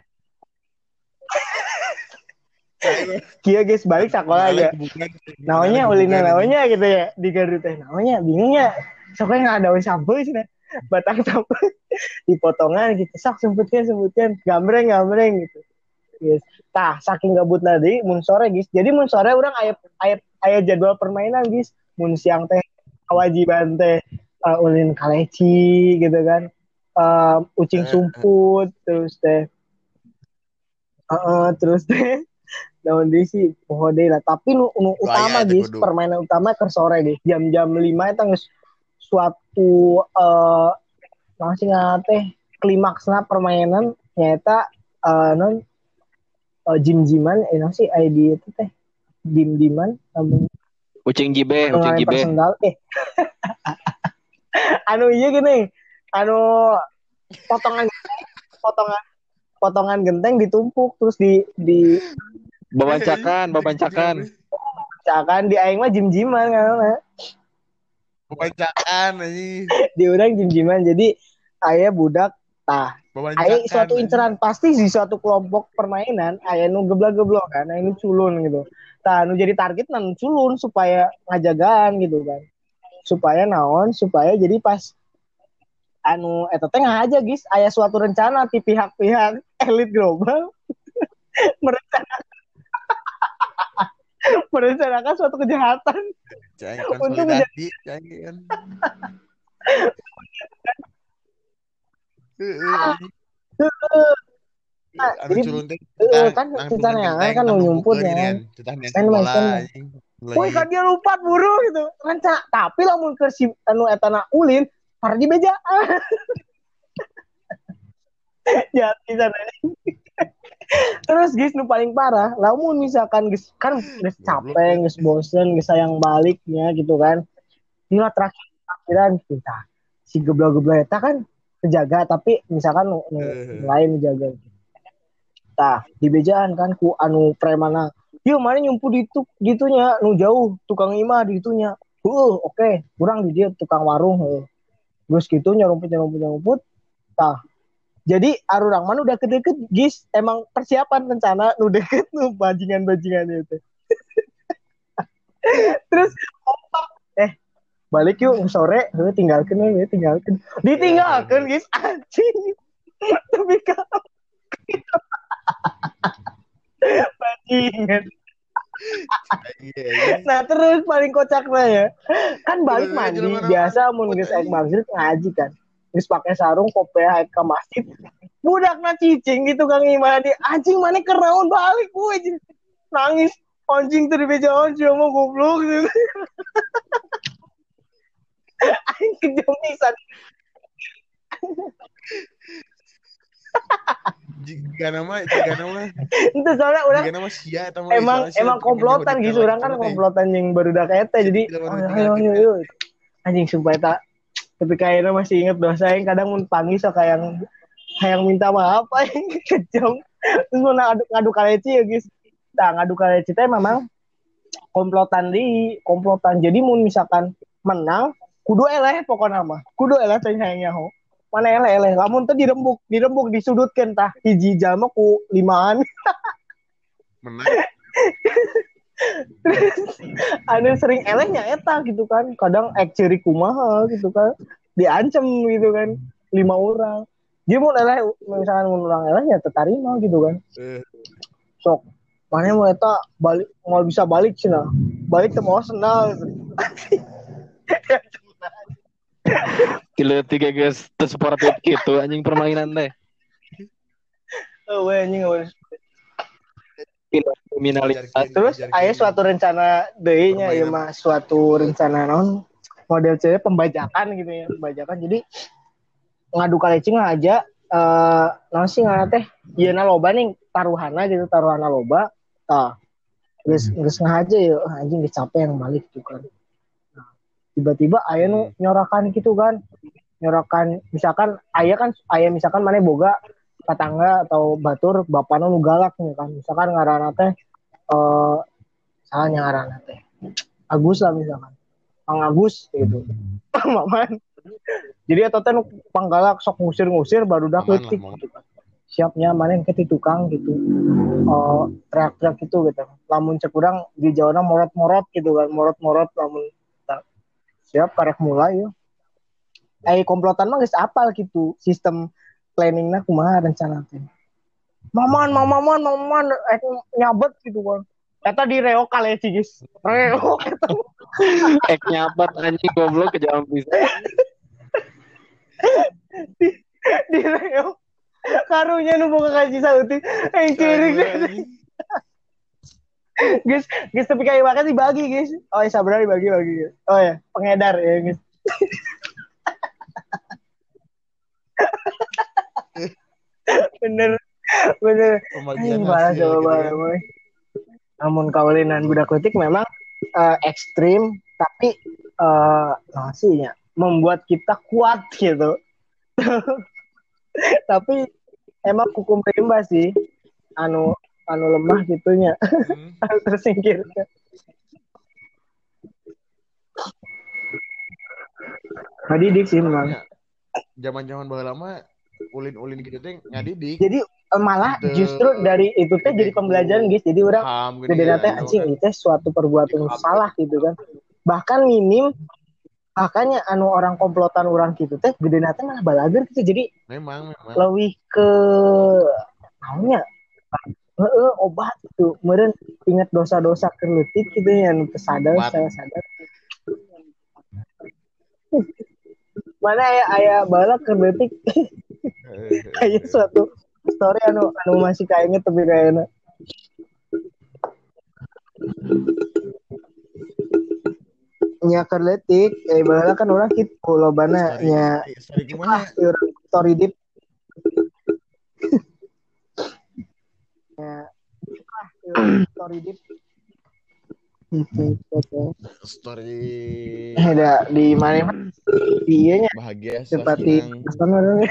kia guys balik sekolah aja. Namanya ulina namanya gitu ya di Garut teh. Namanya bingungnya. Soalnya enggak ada sampai sih. Batang sampai dipotongan gitu sak semputkan semputkan gambreng gambreng gitu yes. Tah saking gabut tadi mun sore guys jadi mun sore orang aya aya aya jadwal permainan guys mun siang teh kewajiban teh uh, ulin kaleci gitu kan uh, ucing sumput terus teh uh, terus teh daun deui sih poho deui lah tapi nu, nu utama guys permainan utama ke sore guys jam-jam lima eta geus suatu uh, masih ngateh klimaksna permainan nyata uh, non uh, jim-jiman eh nasi I D itu teh jim-jiman um, ucing jibe ucing jibe sendal eh anu iya gini, anu potongan potongan potongan genteng ditumpuk terus di di babancakan, babancakan. Babancakan di aing mah jim-jiman kan. Babancakan anjing. Di urang jim-jiman. Jadi aya budak tah. Aya suatu inceran pasti di suatu kelompok permainan aya nu geblak-geblok kan, aya nu culun gitu. Tah nu jadi target nan culun supaya ngajagaan gitu kan. Supaya naon? Supaya jadi pas anu eta teh aja guys, aya suatu rencana ti pihak-pihak elit global merencanakan merencanakan suatu kejahatan untuk menjadi Nah, jadi kan rencananya kan nyumput ya kan woi kan dia lupa buru gitu rencana tapi lamun ke si anu etana ulin para di beja jati sana. Terus guys nu paling parah lamun misalkan guys kan geus capek geus bosen geus sayang baliknya gitu kan nila terakhir akhiran kita si geblak-geblak eta kan kejaga tapi misalkan nu, nu lain jaga tah di bejaan kan ku anu premana yuk mana nyumpu di tu gitunya nu jauh tukang imah di itunya uh oke okay. Kurang di dia tukang warung uh. Terus gitu nyarumput nyarumput nyarumput tah jadi arurang mana udah deket guys emang persiapan rencana nu deket nu bajingan-bajingan itu. Terus eh balik yuk sore heuh tinggalkeun we tinggalkeun ditinggalkeun guys anjing tapi kalau bajingan. Nah terus paling kocaknya ya kan balik mandi biasa mun geus aek maghrib ngaji kan geus pake sarung kopiah aek ka masjid budakna cicing gitu Kang Imadi anjing maneh keur naon balik gue nangis anjing teu dibejaan sia mah goblok gitu. Aing kejong pisan. Jika nama, jika nama. Itu soalnya orang emang emang komplotan gitu, orang kan komplotan yang barudak eta jadi ayo ayo ayo. Anjing sumpah eta tapi kayaknya masih inget dosa yang kadang mun panggil sok yang yang minta maaf aing kejong. Terus mau ngadu ngadu kaleci ya guys. Nah, ngadu kaleci teh memang komplotan di komplotan. Jadi mun misalkan menang kudu eleh pokokna mah. Kudu eleh teh hayang nyaho. Mana eleh-eleh lamun teh dirembuk dirembuk disudutkeun tah hiji jalma ku limaan menang anu sering elehnya eta gitu kan kadang ek ciri kumaha gitu kan diancem gitu kan lima orang dia mau eleh misalkan mun urang elehnya teu tarima gitu kan sok mana mau eta balik mau bisa balik cenah balik teh mau senal Kilo tiga guys tersuportif gitu anjing permainan teh. Oh we anjing we. Kilo kriminalitas. Terus aya suatu rencana deui nya ieu mah suatu rencana naon model C pembajakan gitu ya, pembajakan. Jadi ngadu kalecing aja eh naon sih ngaranna teh? Ieuna loba nih taruhanna gitu, taruhanna loba. Tah. Geus geus ngahaja ya anjing geus capek yang balik gitu kan. Tiba-tiba aya nu nyorakan gitu kan nyorakan misalkan aya kan aya misalkan maneh boga tetangga atau batur bapana nu galak nih kan misalkan ngaranna teh eh salahnya ngaranna teh Agus lah misalkan Kang Agus gitu Maman jadi eta teh nu panggalak sok ngusir-ngusir barudak leutik gitu kan siapnya maneh ke ti tukang gitu eh teriak-teriak gitu gitu lamun cek urang di Jawana morot-morot gitu kan morot-morot lamun siap karek mulai ya. Eh komplotan mah geus apal gitu sistem planningna kumaha rencana teh. Maman, mamaman, mamaman eh nyabet gitu kan. Eta di reok kaleci geus. Reok eta. Ek nyabet anjing goblok kejam pisan. di, di reok. Karunya nu boga kaji sautik. Eh cirik. Guys, guys tapi kayak makasih bagi guys. Oh ya sabar dibagi bagi. Oh ya pengedar ya guys. bener bener. Ini balas jawaban. Gitu, namun kaulinan budak letik memang uh, ekstrim tapi uh, masihnya membuat kita kuat gitu. Tapi emang hukum rimba sih anu anu lemah gitunya hmm. harus tersingkirkan. Ngadidik sih memang. Zaman-zaman baheula mah ulin-ulin gitu teh ngadidik. Jadi malah gitu, justru dari itu teh jadi pembelajaran guys. Jadi orang gede teh anjing itu teh suatu perbuatan salah gitu kan. Bahkan minim makanya anu orang komplotan orang gitu teh gede teh malah balager gitu. Jadi memang memang lebih ke namanya heeh obat itu. Meureun ingat dosa-dosa keleutik gitu ya anu teu sadar salah sadar. Mana aya aya baheula keleutik. Aya suatu story anu anu masih kainget tapi kayaknya nya kerletik eh baheula kan orang kitu lobana nya story deep ya story deep story ada di mana iya nya bahagia seperti ada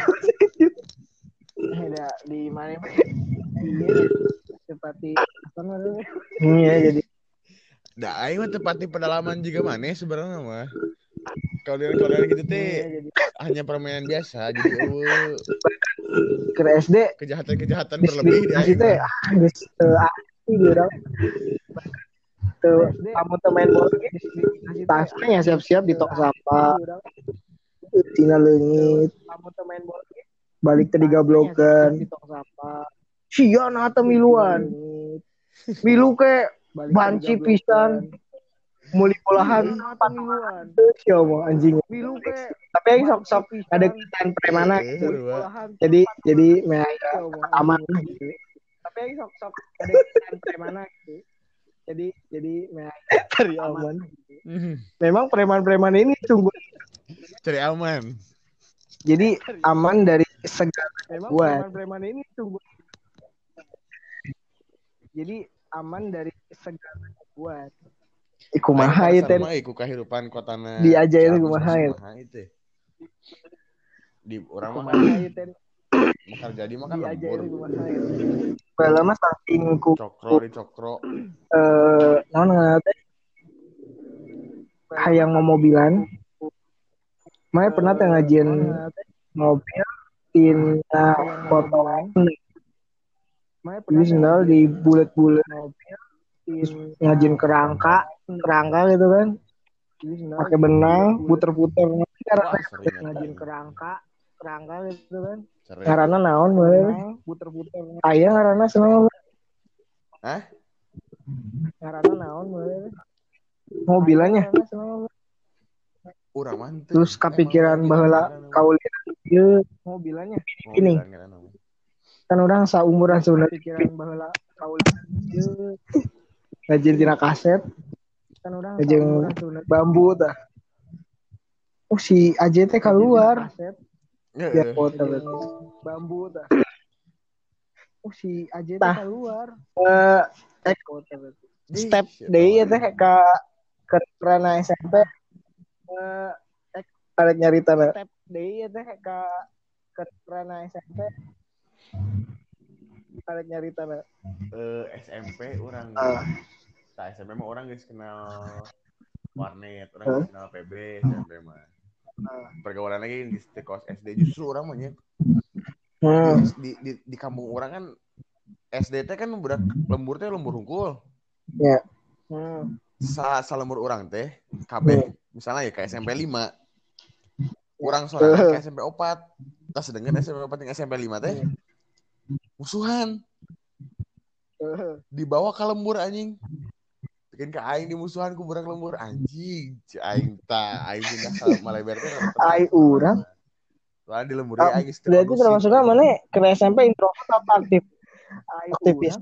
di mana iya seperti iya jadi da aing mah tepati pedalaman juga maneh sebenarnya mah. Kalian-kalian gitu teh hanya permainan biasa jadi eueuh ke S D kejahatan-kejahatan berlebih di aing. Teh ah geus teu asli urang. Teu kamu teu main bola tasnya siap-siap di tong sampah. Tina leungit. Kamu teu main bola balik teh digablokeun di tong sampah. Sia na teh miluan. Milu ke banci pisan muli olahan empat mingguan sia mah anjing milu ke tapi yang sok-sok ada ketan premana gitu jadi jadi meh aman gitu tapi yang sok-sok ada ketan premana gitu jadi jadi meh cari aman memang preman-preman ini sungguh cari aman jadi aman dari segala memang preman-preman ini sungguh jadi aman dari segala buat iku maha ieu teh iku kahirupan kotana diajarin kumaha itu di urang mah kan bakal jadi mah kan lembur bala mah saking ku cokro di cokro eh naon ngaranna teh hayang mobilan mah pernah teh ngajieun mobil tina potongan jadi sendal di bulet-bulet ngajin kerangka kerangka gitu kan pakai benang puter-puter ngajin kerangka kerangka gitu kan ngaranna naon boleh puter-puter aya ngaranna seneng hah ngaranna naon boleh mobilannya urang mah terus kepikiran baheula kaulian ieu mobilannya ini kan orang saumuran sebenarnya pikiran baheula kaulian ieu ngajin tina kaset kan orang ngajin bambu tah oh si Aje teh keluar ya foto bambu tah oh si Aje teh keluar eh step deui teh ka ke rana S M P eh ada nyarita step deui teh ka ke rana S M P ada nyarita eh S M P orang tak S M P mah orang guys kenal warnet, orang guys kenal P B, S M P mah. Pergaulan lagi di kos S D justru orang mah hmm. di, di di kampung orang kan S D teh kan budak lembur teh lembur hungkul. Ya. Yeah. Hmm. Sa salembur orang teh kabeh hmm. misalnya ya ke S M P lima. Orang sorangan ke S M P empat. Tas sedengkeun S M P empat jeung S M P lima teh musuhan. Dibawa ke lembur anjing. Bikin ke aing di musuhan ku budak lembur anjing. Ci aing ta aing pindah ke Maleber teh. Aing urang. Lah di lembur uh, aing geus berarti termasuknya mana ke S M P introvert apa aktif? Aktivis.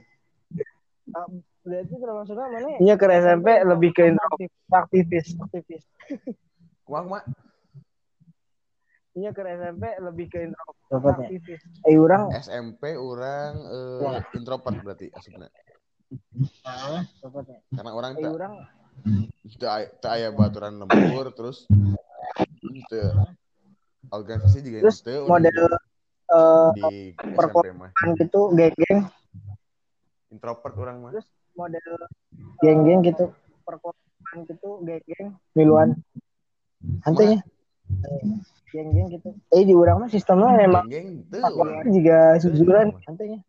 Berarti termasuknya mana? Iya ke S M P lebih ke introvert aktivis. Aktivis. Kumaha kumaha? Iya ke S M P lebih ke introvert aktivis. Eh urang S M P urang uh, introvert berarti asupna. Heeh, karena orang tak tak aya baturan lembur terus Itu organisasi juga terus itu model uh, di perkumpulan gitu, geng-geng introvert orang mah. Terus model geng-geng gitu, perkumpulan gitu, geng-geng miluan. Hantenya. Geng-geng gitu. Eh di urang mah sistemnya memang geng-geng teu juga sujuran hantenya.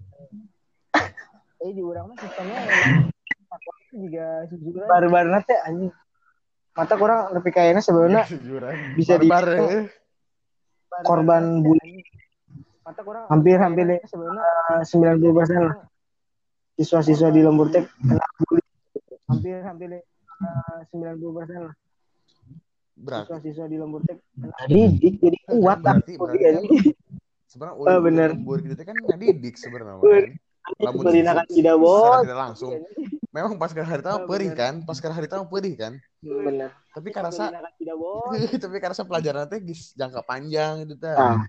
Eh di urang mah sistemnya memang juga sujuran. Baru-baru teh anjing. Mata kurang lebih kayaknya sebenarnya bisa di korban bully. Mata kurang hampir-hampir sebenarnya sembilan puluh persen lah. Siswa-siswa di Lembur Teh kena bully. Hampir-hampir sembilan puluh persen lah. Siswa-siswa di Lembur Teh kena didik jadi kuat berarti berarti kan sebenarnya oh, bener lembur gitu kan ngadidik sebenarnya kan. Lamun tidak secara tidak langsung. Memang pas hari tahu perih kan, pas hari tahu perih kan. Benar. Tapi karasa tapi karasa pelajaran teh geus jangka panjang gitu teh. Ah.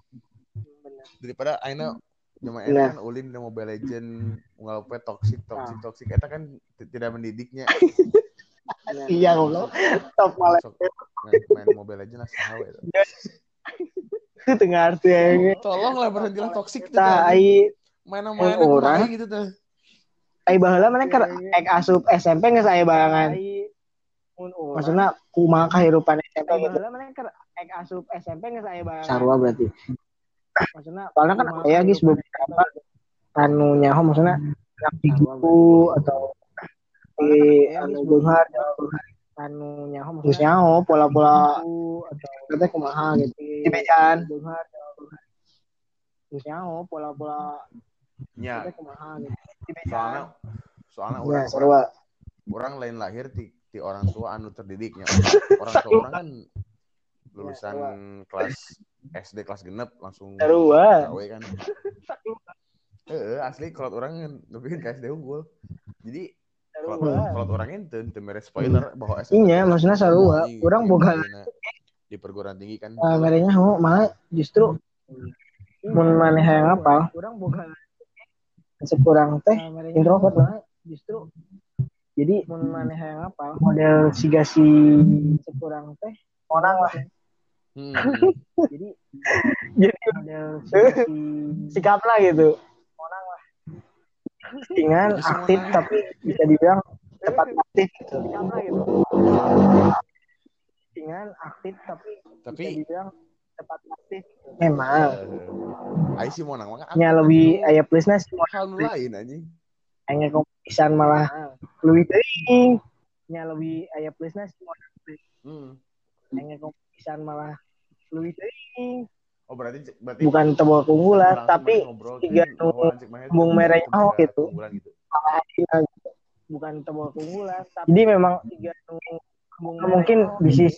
Daripada aina cuma enak kan ulin di Mobile Legend ngalape toksik toksik toksik eta kan tidak mendidiknya. Iya goblok. Top malah main, main Mobile Legend asal hawe itu. Itu tengah arti ya. Tolonglah berhentilah toksik itu tah. Ai main-main orang gitu teh. Ai baheula mana keur ek asup S M P geus aya barangan. Maksudna kumaha kahirupan S M P baheula mana keur ek asup S M P geus aya barangan. Sarua berarti. Maksudna soalnya kan aya geus beberapa anu nyaho maksudna anak digitu atau di anu beunghar anu nyaho maksudna nyaho pola-pola atau kata kumaha gitu di bejaan beunghar geus nyaho pola-pola nya kumaha gitu di soalnya soalnya orang, ya, orang orang lain lahir di, di orang tua anu terdidiknya orang tua orang kan lulusan ya, kelas S D kelas genep langsung gawe kan heeh asli kalau orang lebih ke S D unggul jadi kalau kalau orang ente ente mere spoiler bahwa S D iya maksudnya sarua orang boga di perguruan tinggi kan uh, merenya ho malah justru mun maneh hayang apal orang boga sekurang teh introvert lah justru jadi mun maneh hayang apal model siga si sekurang teh orang lah hmm. jadi jadi model siga si sikap lah gitu orang lah dengan aktif tapi bisa dibilang cepat aktif gitu sikap lah gitu dengan aktif tapi tapi bisa dibilang cepat aktif memang ai sih mau nang nya lebih aya plusna sih hal lain anjing aya kompetisan malah lebih teuing nya lebih aya plusna sih hmm aya kompetisan malah lebih teuing oh berarti berarti bukan tebal keunggulan tapi tiga embung merahnya oh gitu bukan tebal keunggulan jadi memang tiga embung mungkin bisnis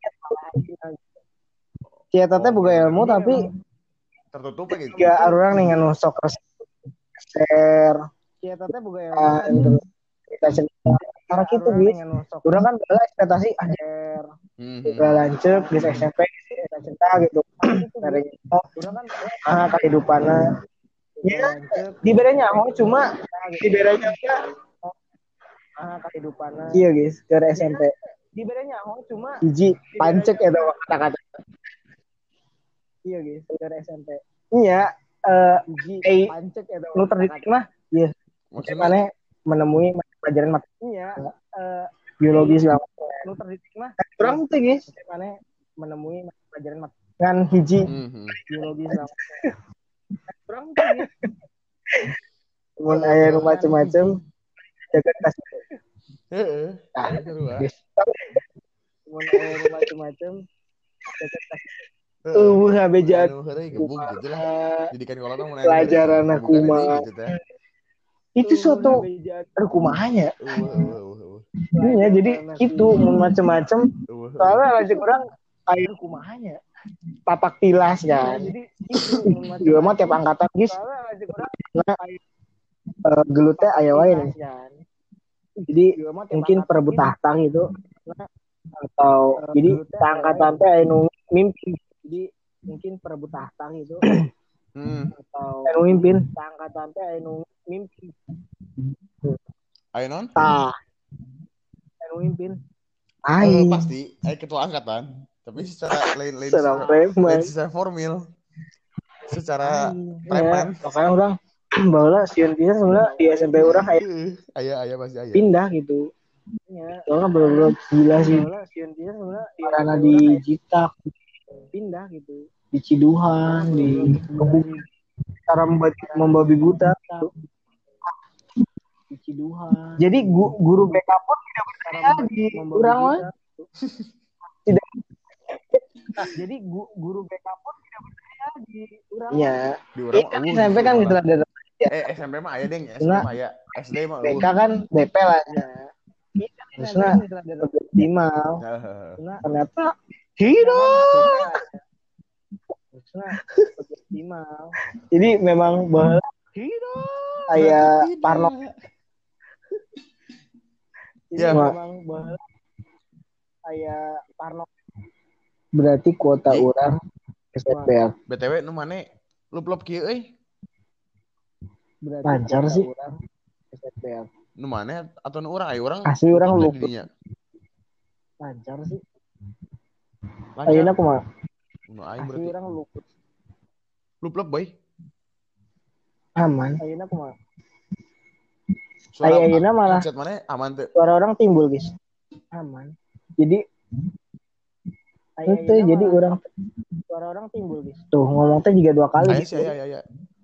Cia teh boga ilmu tapi tertutup gitu. Ya orang nih nganu sok share. Cia teh boga ilmu. Kita cerita karena gitu guys. Urang kan bala ekspektasi ajar. Udah lanjut di S M P kita cerita gitu. Dari urang kan ah kehidupanna. Ya di bedanya oh cuma di bedanya ah kehidupanna. Iya guys, dari S M P. Di bedanya oh cuma hiji pancek eta kata-kata. Iya guys, dari S M P. Iya, eh uh, pancek eta. Nu terdidik mah, iya. Maksudnya menemui pelajaran mata. Iya, eh biologis lah. Nu terdidik mah. Kurang tuh guys. Mana menemui pelajaran mata. Kan hiji biologis lah. Kurang tuh guys. Mun aya nu macam-macam jaga tas. Heeh. Ah, guys. Mun aya nu macam-macam jaga tas. Uh, habejat. Didikan kalau tuh pelajaran aku mah. Itu suatu kumahanya. Iya, jadi itu macam-macam. Soalnya lanjut orang air kumahanya. Papak tilas kan. Jadi itu mah tiap angkatan guys. Nah, gelutnya aya wae kan. Jadi mungkin perebut tahta gitu. Atau jadi angkatan teh anu mimpi. Jadi mungkin perebut tahta gitu hmm. atau anu mimpin angkatan teh anu mimpi ayo non tah anu mimpin ai uh, pasti ai ketua angkatan Tapi secara lain lain secara preman, secara formal, secara preman. Ya, makanya orang bahwa sieun pisan sebenarnya di S M P orang kayak aya aya pasti aya. Pindah gitu. Ya, soalnya bener-bener gila sih. Sieun pisan sebenarnya karena di Jitak pindah gitu. Di Ciduhan, di Kebumen, cara membabi, membabi buta di Ciduhan. Jadi gu, guru B K pun tidak berdaya di orang mah. Tidak. Jadi gu, guru B K pun tidak berdaya di orang. Iya. Di orang uh, S M P kan gitu ada. Eh S M P mah aya deng, S M P mah aya. S D mah B K kan B P lah ya. Terusnya optimal. Nah, ternyata hidup. Terusnya optimal. Jadi memang bahwa hidup kayak Parno. Ya, memang bahwa kayak Parno. Berarti kuota J- orang S M P. B T W nu mane lup-lup kieu euy. Lancar sih. S M P. Nu mane atau nu urang aya urang? Asli urang lup. Lancar sih. Ayeuna kumaha? Nu aing berarti urang luput. Lup-lup boy. Aman. Ayeuna kumaha? Ayeuna malah chat mana aman tuh. Suara orang timbul, guys. Aman. Jadi itu jadi orang suara orang timbul, guys. Tuh ngomong teh juga dua kali. Aya sih aya aya.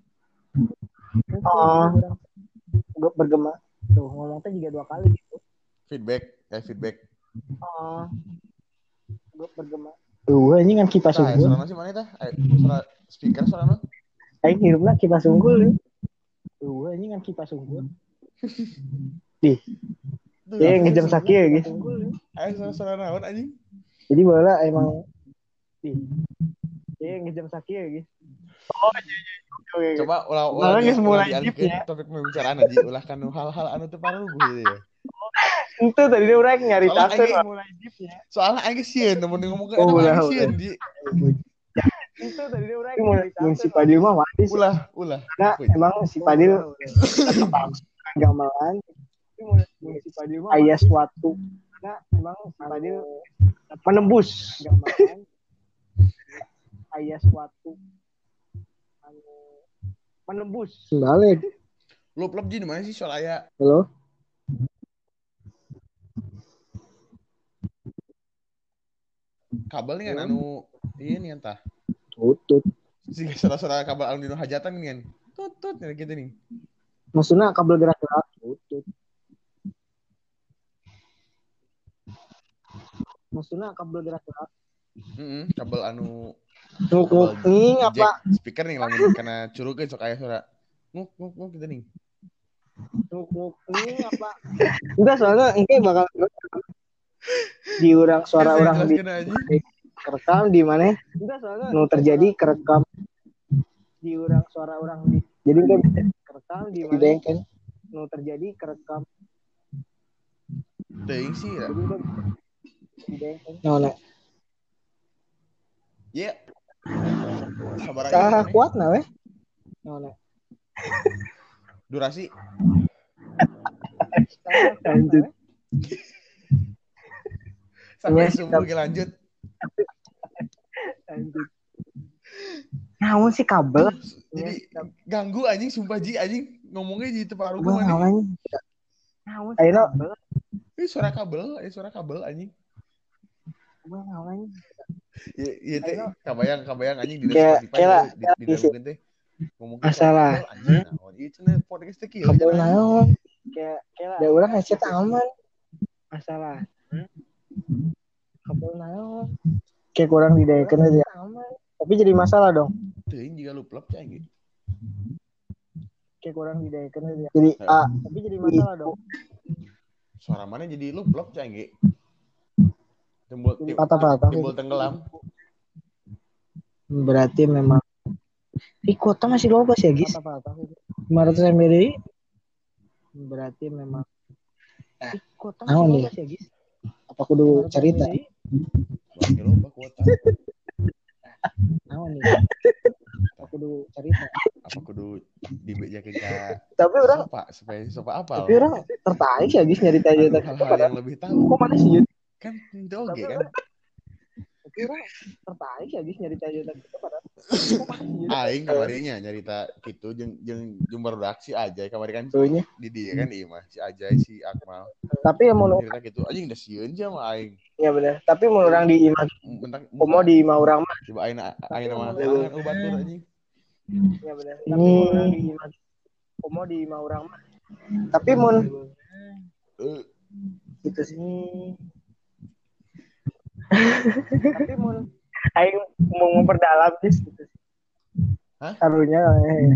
Oh. Gue bergema. Tuh ngomong teh juga dua kali gitu. Feedback, kayak feedback. Oh. Gue bergema. Tuh ini kan kipas nah, unggul. Suara sih mana tah? Suara speaker suara mana? Aing hirupna kipas unggul. Tuh ini kan kipas unggul. Di. Ya ngejam sakit ya, guys. Ayo suara naon anjing. Jadi bola emang di. Ya ngejam sakit ya, guys. Oh, iya iya. Coba ulah-ulah dialihkeun topik pembicaraan aja, ulah kan hal-hal anu teu paruguh gitu ya. Itu tadi dia orang nyari tasen mulai deep-nya. Soalnya aing sieun mun ngomong ke aing sieun di. Itu tadi dia orang nyari tasen. Si Padil mah wajib. Ulah, ulah. Nah, emang si Padil gamelan. Si Padil mah aya suatu. Nah, emang si Padil menembus gamelan. Aya suatu menembus. Balik. Lup-lup di mana sih soal aya? Halo. Kabel nih kan anu iya nih entah. Tutut. Si suara-suara kabel anu dino hajatan nih kan. Tutut nih gitu nih. Maksudnya kabel gerak-gerak tutut. Maksudnya kabel gerak-gerak. Heeh, kabel anu nguk nih apa? Speaker nih lamun karena curukeun sok aya suara. Nguk nguk nguk gitu nih. Nguk nih apa? Enggak soalnya engke bakal di urang suara orang di kerekam di mana? Enggak soalnya nu terjadi kerekam di urang suara orang di. Jadi enggak bisa kerekam di mana? Kan nu terjadi kerekam. Teuing sih ya. No, no. Ya. Sabar aja. Kuat na weh. No, no. Durasi. Lanjut. Sampai subuh kita lanjut. Lanjut. Namun sih kabel. Jadi ganggu anjing sumpah Ji anjing ngomongnya di tempat rumah anjing. Namun sih kabel. Ini suara kabel, ini suara kabel anjing. Gua ngawain. Iya, iya teh kabayang kabayang anjing di Spotify di di dalam teh. Ngomong masalah. Anjing. Naon ieu cenah podcast teh kieu. Kabel naon? Kayak kayak da urang headset aman. Masalah. Kabel naon? Kayak kurang didaekeun aja. Tapi jadi masalah dong. Teuing jiga lup-lup cai ge. Kayak kurang didaekeun aja. Jadi ah, tapi jadi masalah dong. Suara mana jadi lup-lup cai ge. Timbul patah-patah. Timbul tenggelam. Berarti memang di kota masih luas ya, guys. lima ratus M B. Berarti memang di kota masih luas ya, guys. Apa kudu cerita? Bagi loba kuota. Naon nih? Apa kudu cerita? Apa kudu dibejakeun ka? Tapi orang Pak supaya supaya apa? Tapi orang tertarik ya, guys, nyari aja hal-hal yang lebih tahu. Kok mana sih? Kan itu oke kan. Orang tertarik ya guys nyarita cerita gitu padahal. Aing kamarinya nyarita gitu jeung jeung jumber redaksi aja kamari kan. Tuhnya. Di dia kan ieu mah si Ajay si Akmal. Tapi yang mau cerita gitu anjing da sieun ja mah aing. Iya benar. Tapi mun urang di imah Bentak komo di imah urang mah. Coba aing aing mah kan obat tur anjing. Iya benar. Tapi mun urang di imah komo di imah urang mah. Tapi mun gitu sih. Tapi mun aing mau memperdalam guys gitu. Hah? Karunya eh.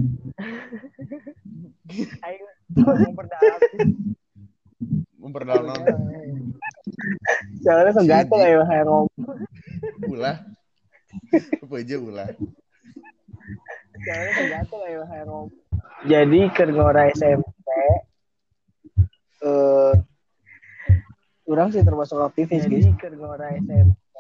Aing mau memperdalam. Memperdalam. Soalnya segatel ya kayak ngomong. Ulah. Apa aja ulah. Soalnya segatel ya kayak ngomong. Jadi keur ngora S M P eh urang sih termasuk aktivis guys. Jadi keur ngora S M P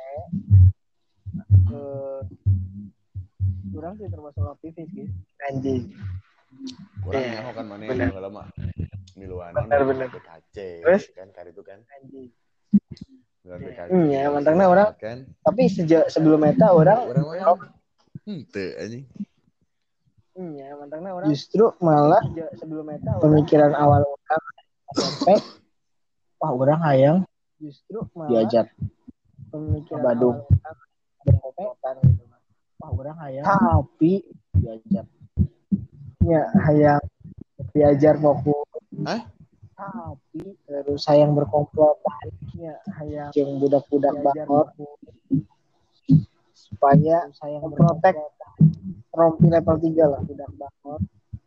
eh urang sih termasuk aktivis guys. Anjing. Kurang yeah. Nyaho kan mana yang lama miluan bener-bener B K C terus kan kali itu kan anjing. Miluan B K C. Iya, mantangna orang kan. Tapi sejak sebelum eta orang orang orang henteu anjing. Iya, mantangna orang justru malah sejak sebelum eta pemikiran awal orang S M P wah orang hayang justru malah diajar pemikiran Badung berkopetan gitu. Wah, orang hayang tapi diajar. Ya, hayang diajar fokus. Hah? Tapi terus hayang berkomplotan. Ya, hayang jeung budak-budak banget. Supaya sayang protek rompi level tiga lah budak banget.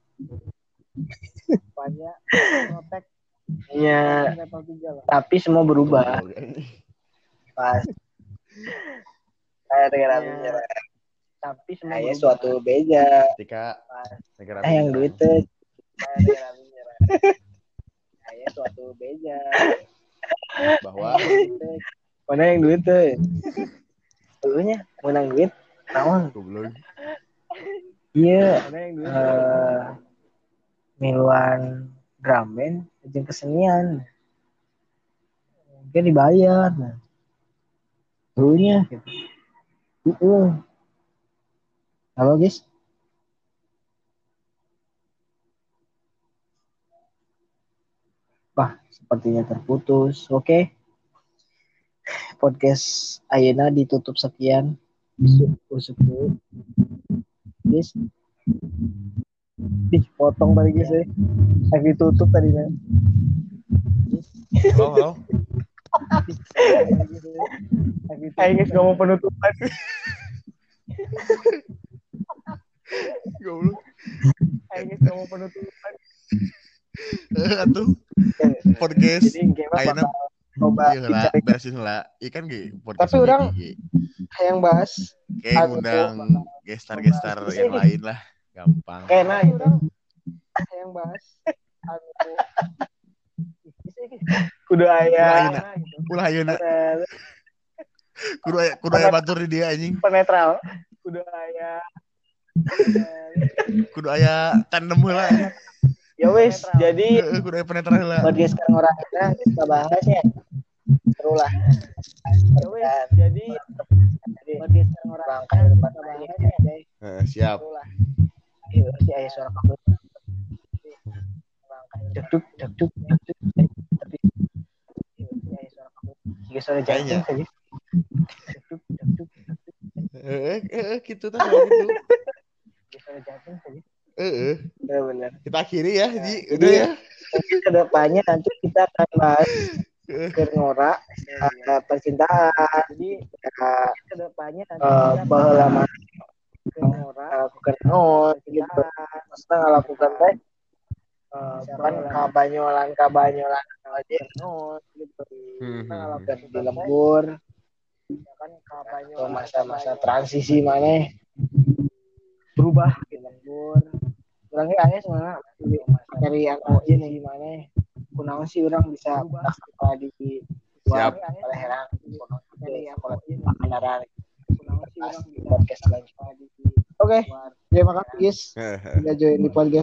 Supaya protek ya level tiga lah. Tapi semua berubah. Pas. Saya dengar ya. Tapi semua berubah. Suatu beda. Ketika negara yang duit teh saya suatu beda bahwa mana yang duit teh dulunya menang duit naon goblok iya uh, miluan drum band jeung kesenian mungkin dibayar nah dulunya gitu itu halo guys. Wah, sepertinya terputus. Oke. Okay. Podcast ayeuna ditutup sekian. Usuk dulu. Guys. Ih, potong tadi guys ya. Lagi tutup tadinya. Halo, halo. Ayo guys, ngomong penutupan. Goblok. Ayo guys, ngomong penutupan. Eh atuh podcast ayeuna coba lah beresin lah ikan ge podcast tapi orang yang bahas kayak ngundang gestar-gestar yang lain lah gampang kena gitu yang bahas kudu aya ulah ayeuna kudu aya kudu aya batur di dia anjing penetral kudu aya kudu aya tandem heula ya wes, jadi udah penetral lah. Podcast sekarang orang kita kita bahas ya. Seru lah. Ya wes, jadi podcast sekarang orang kita bahas ya. Eh, siap. Ayo si ayah suara kamu. Duk duk duk duk duk. Tapi si ayah suara kamu. Jika suara jantung saja. Duk duk duk. Eh eh gitu tuh gitu. Jika suara jantung saja. Eh, uh, benar. Kita akhiri ya, ya. Ji. Udah ya. Kedepannya nanti kita akan bahas Kernora, uh, percintaan. Jadi uh, kedepannya nanti uh, bahwa Kernora, lakukan non, gitu. Maksudnya lakukan teh, kan kabanyolan kabanyolan aja non, gitu. Kita lakukan di lembur, kan kabanyolan masa-masa transisi mana berubah di lembur. Orangnya ayah sebenarnya dari yang ini gimana? Kunaon sih orang bisa apa di siap oleh heran dari yang kendaraan. Kunaon sih orang di podcast selanjutnya. Oke, terima kasih guys sudah join di podcast.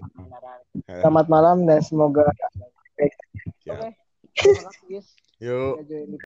Selamat malam dan semoga baik. Oke, terima kasih guys. Yuk.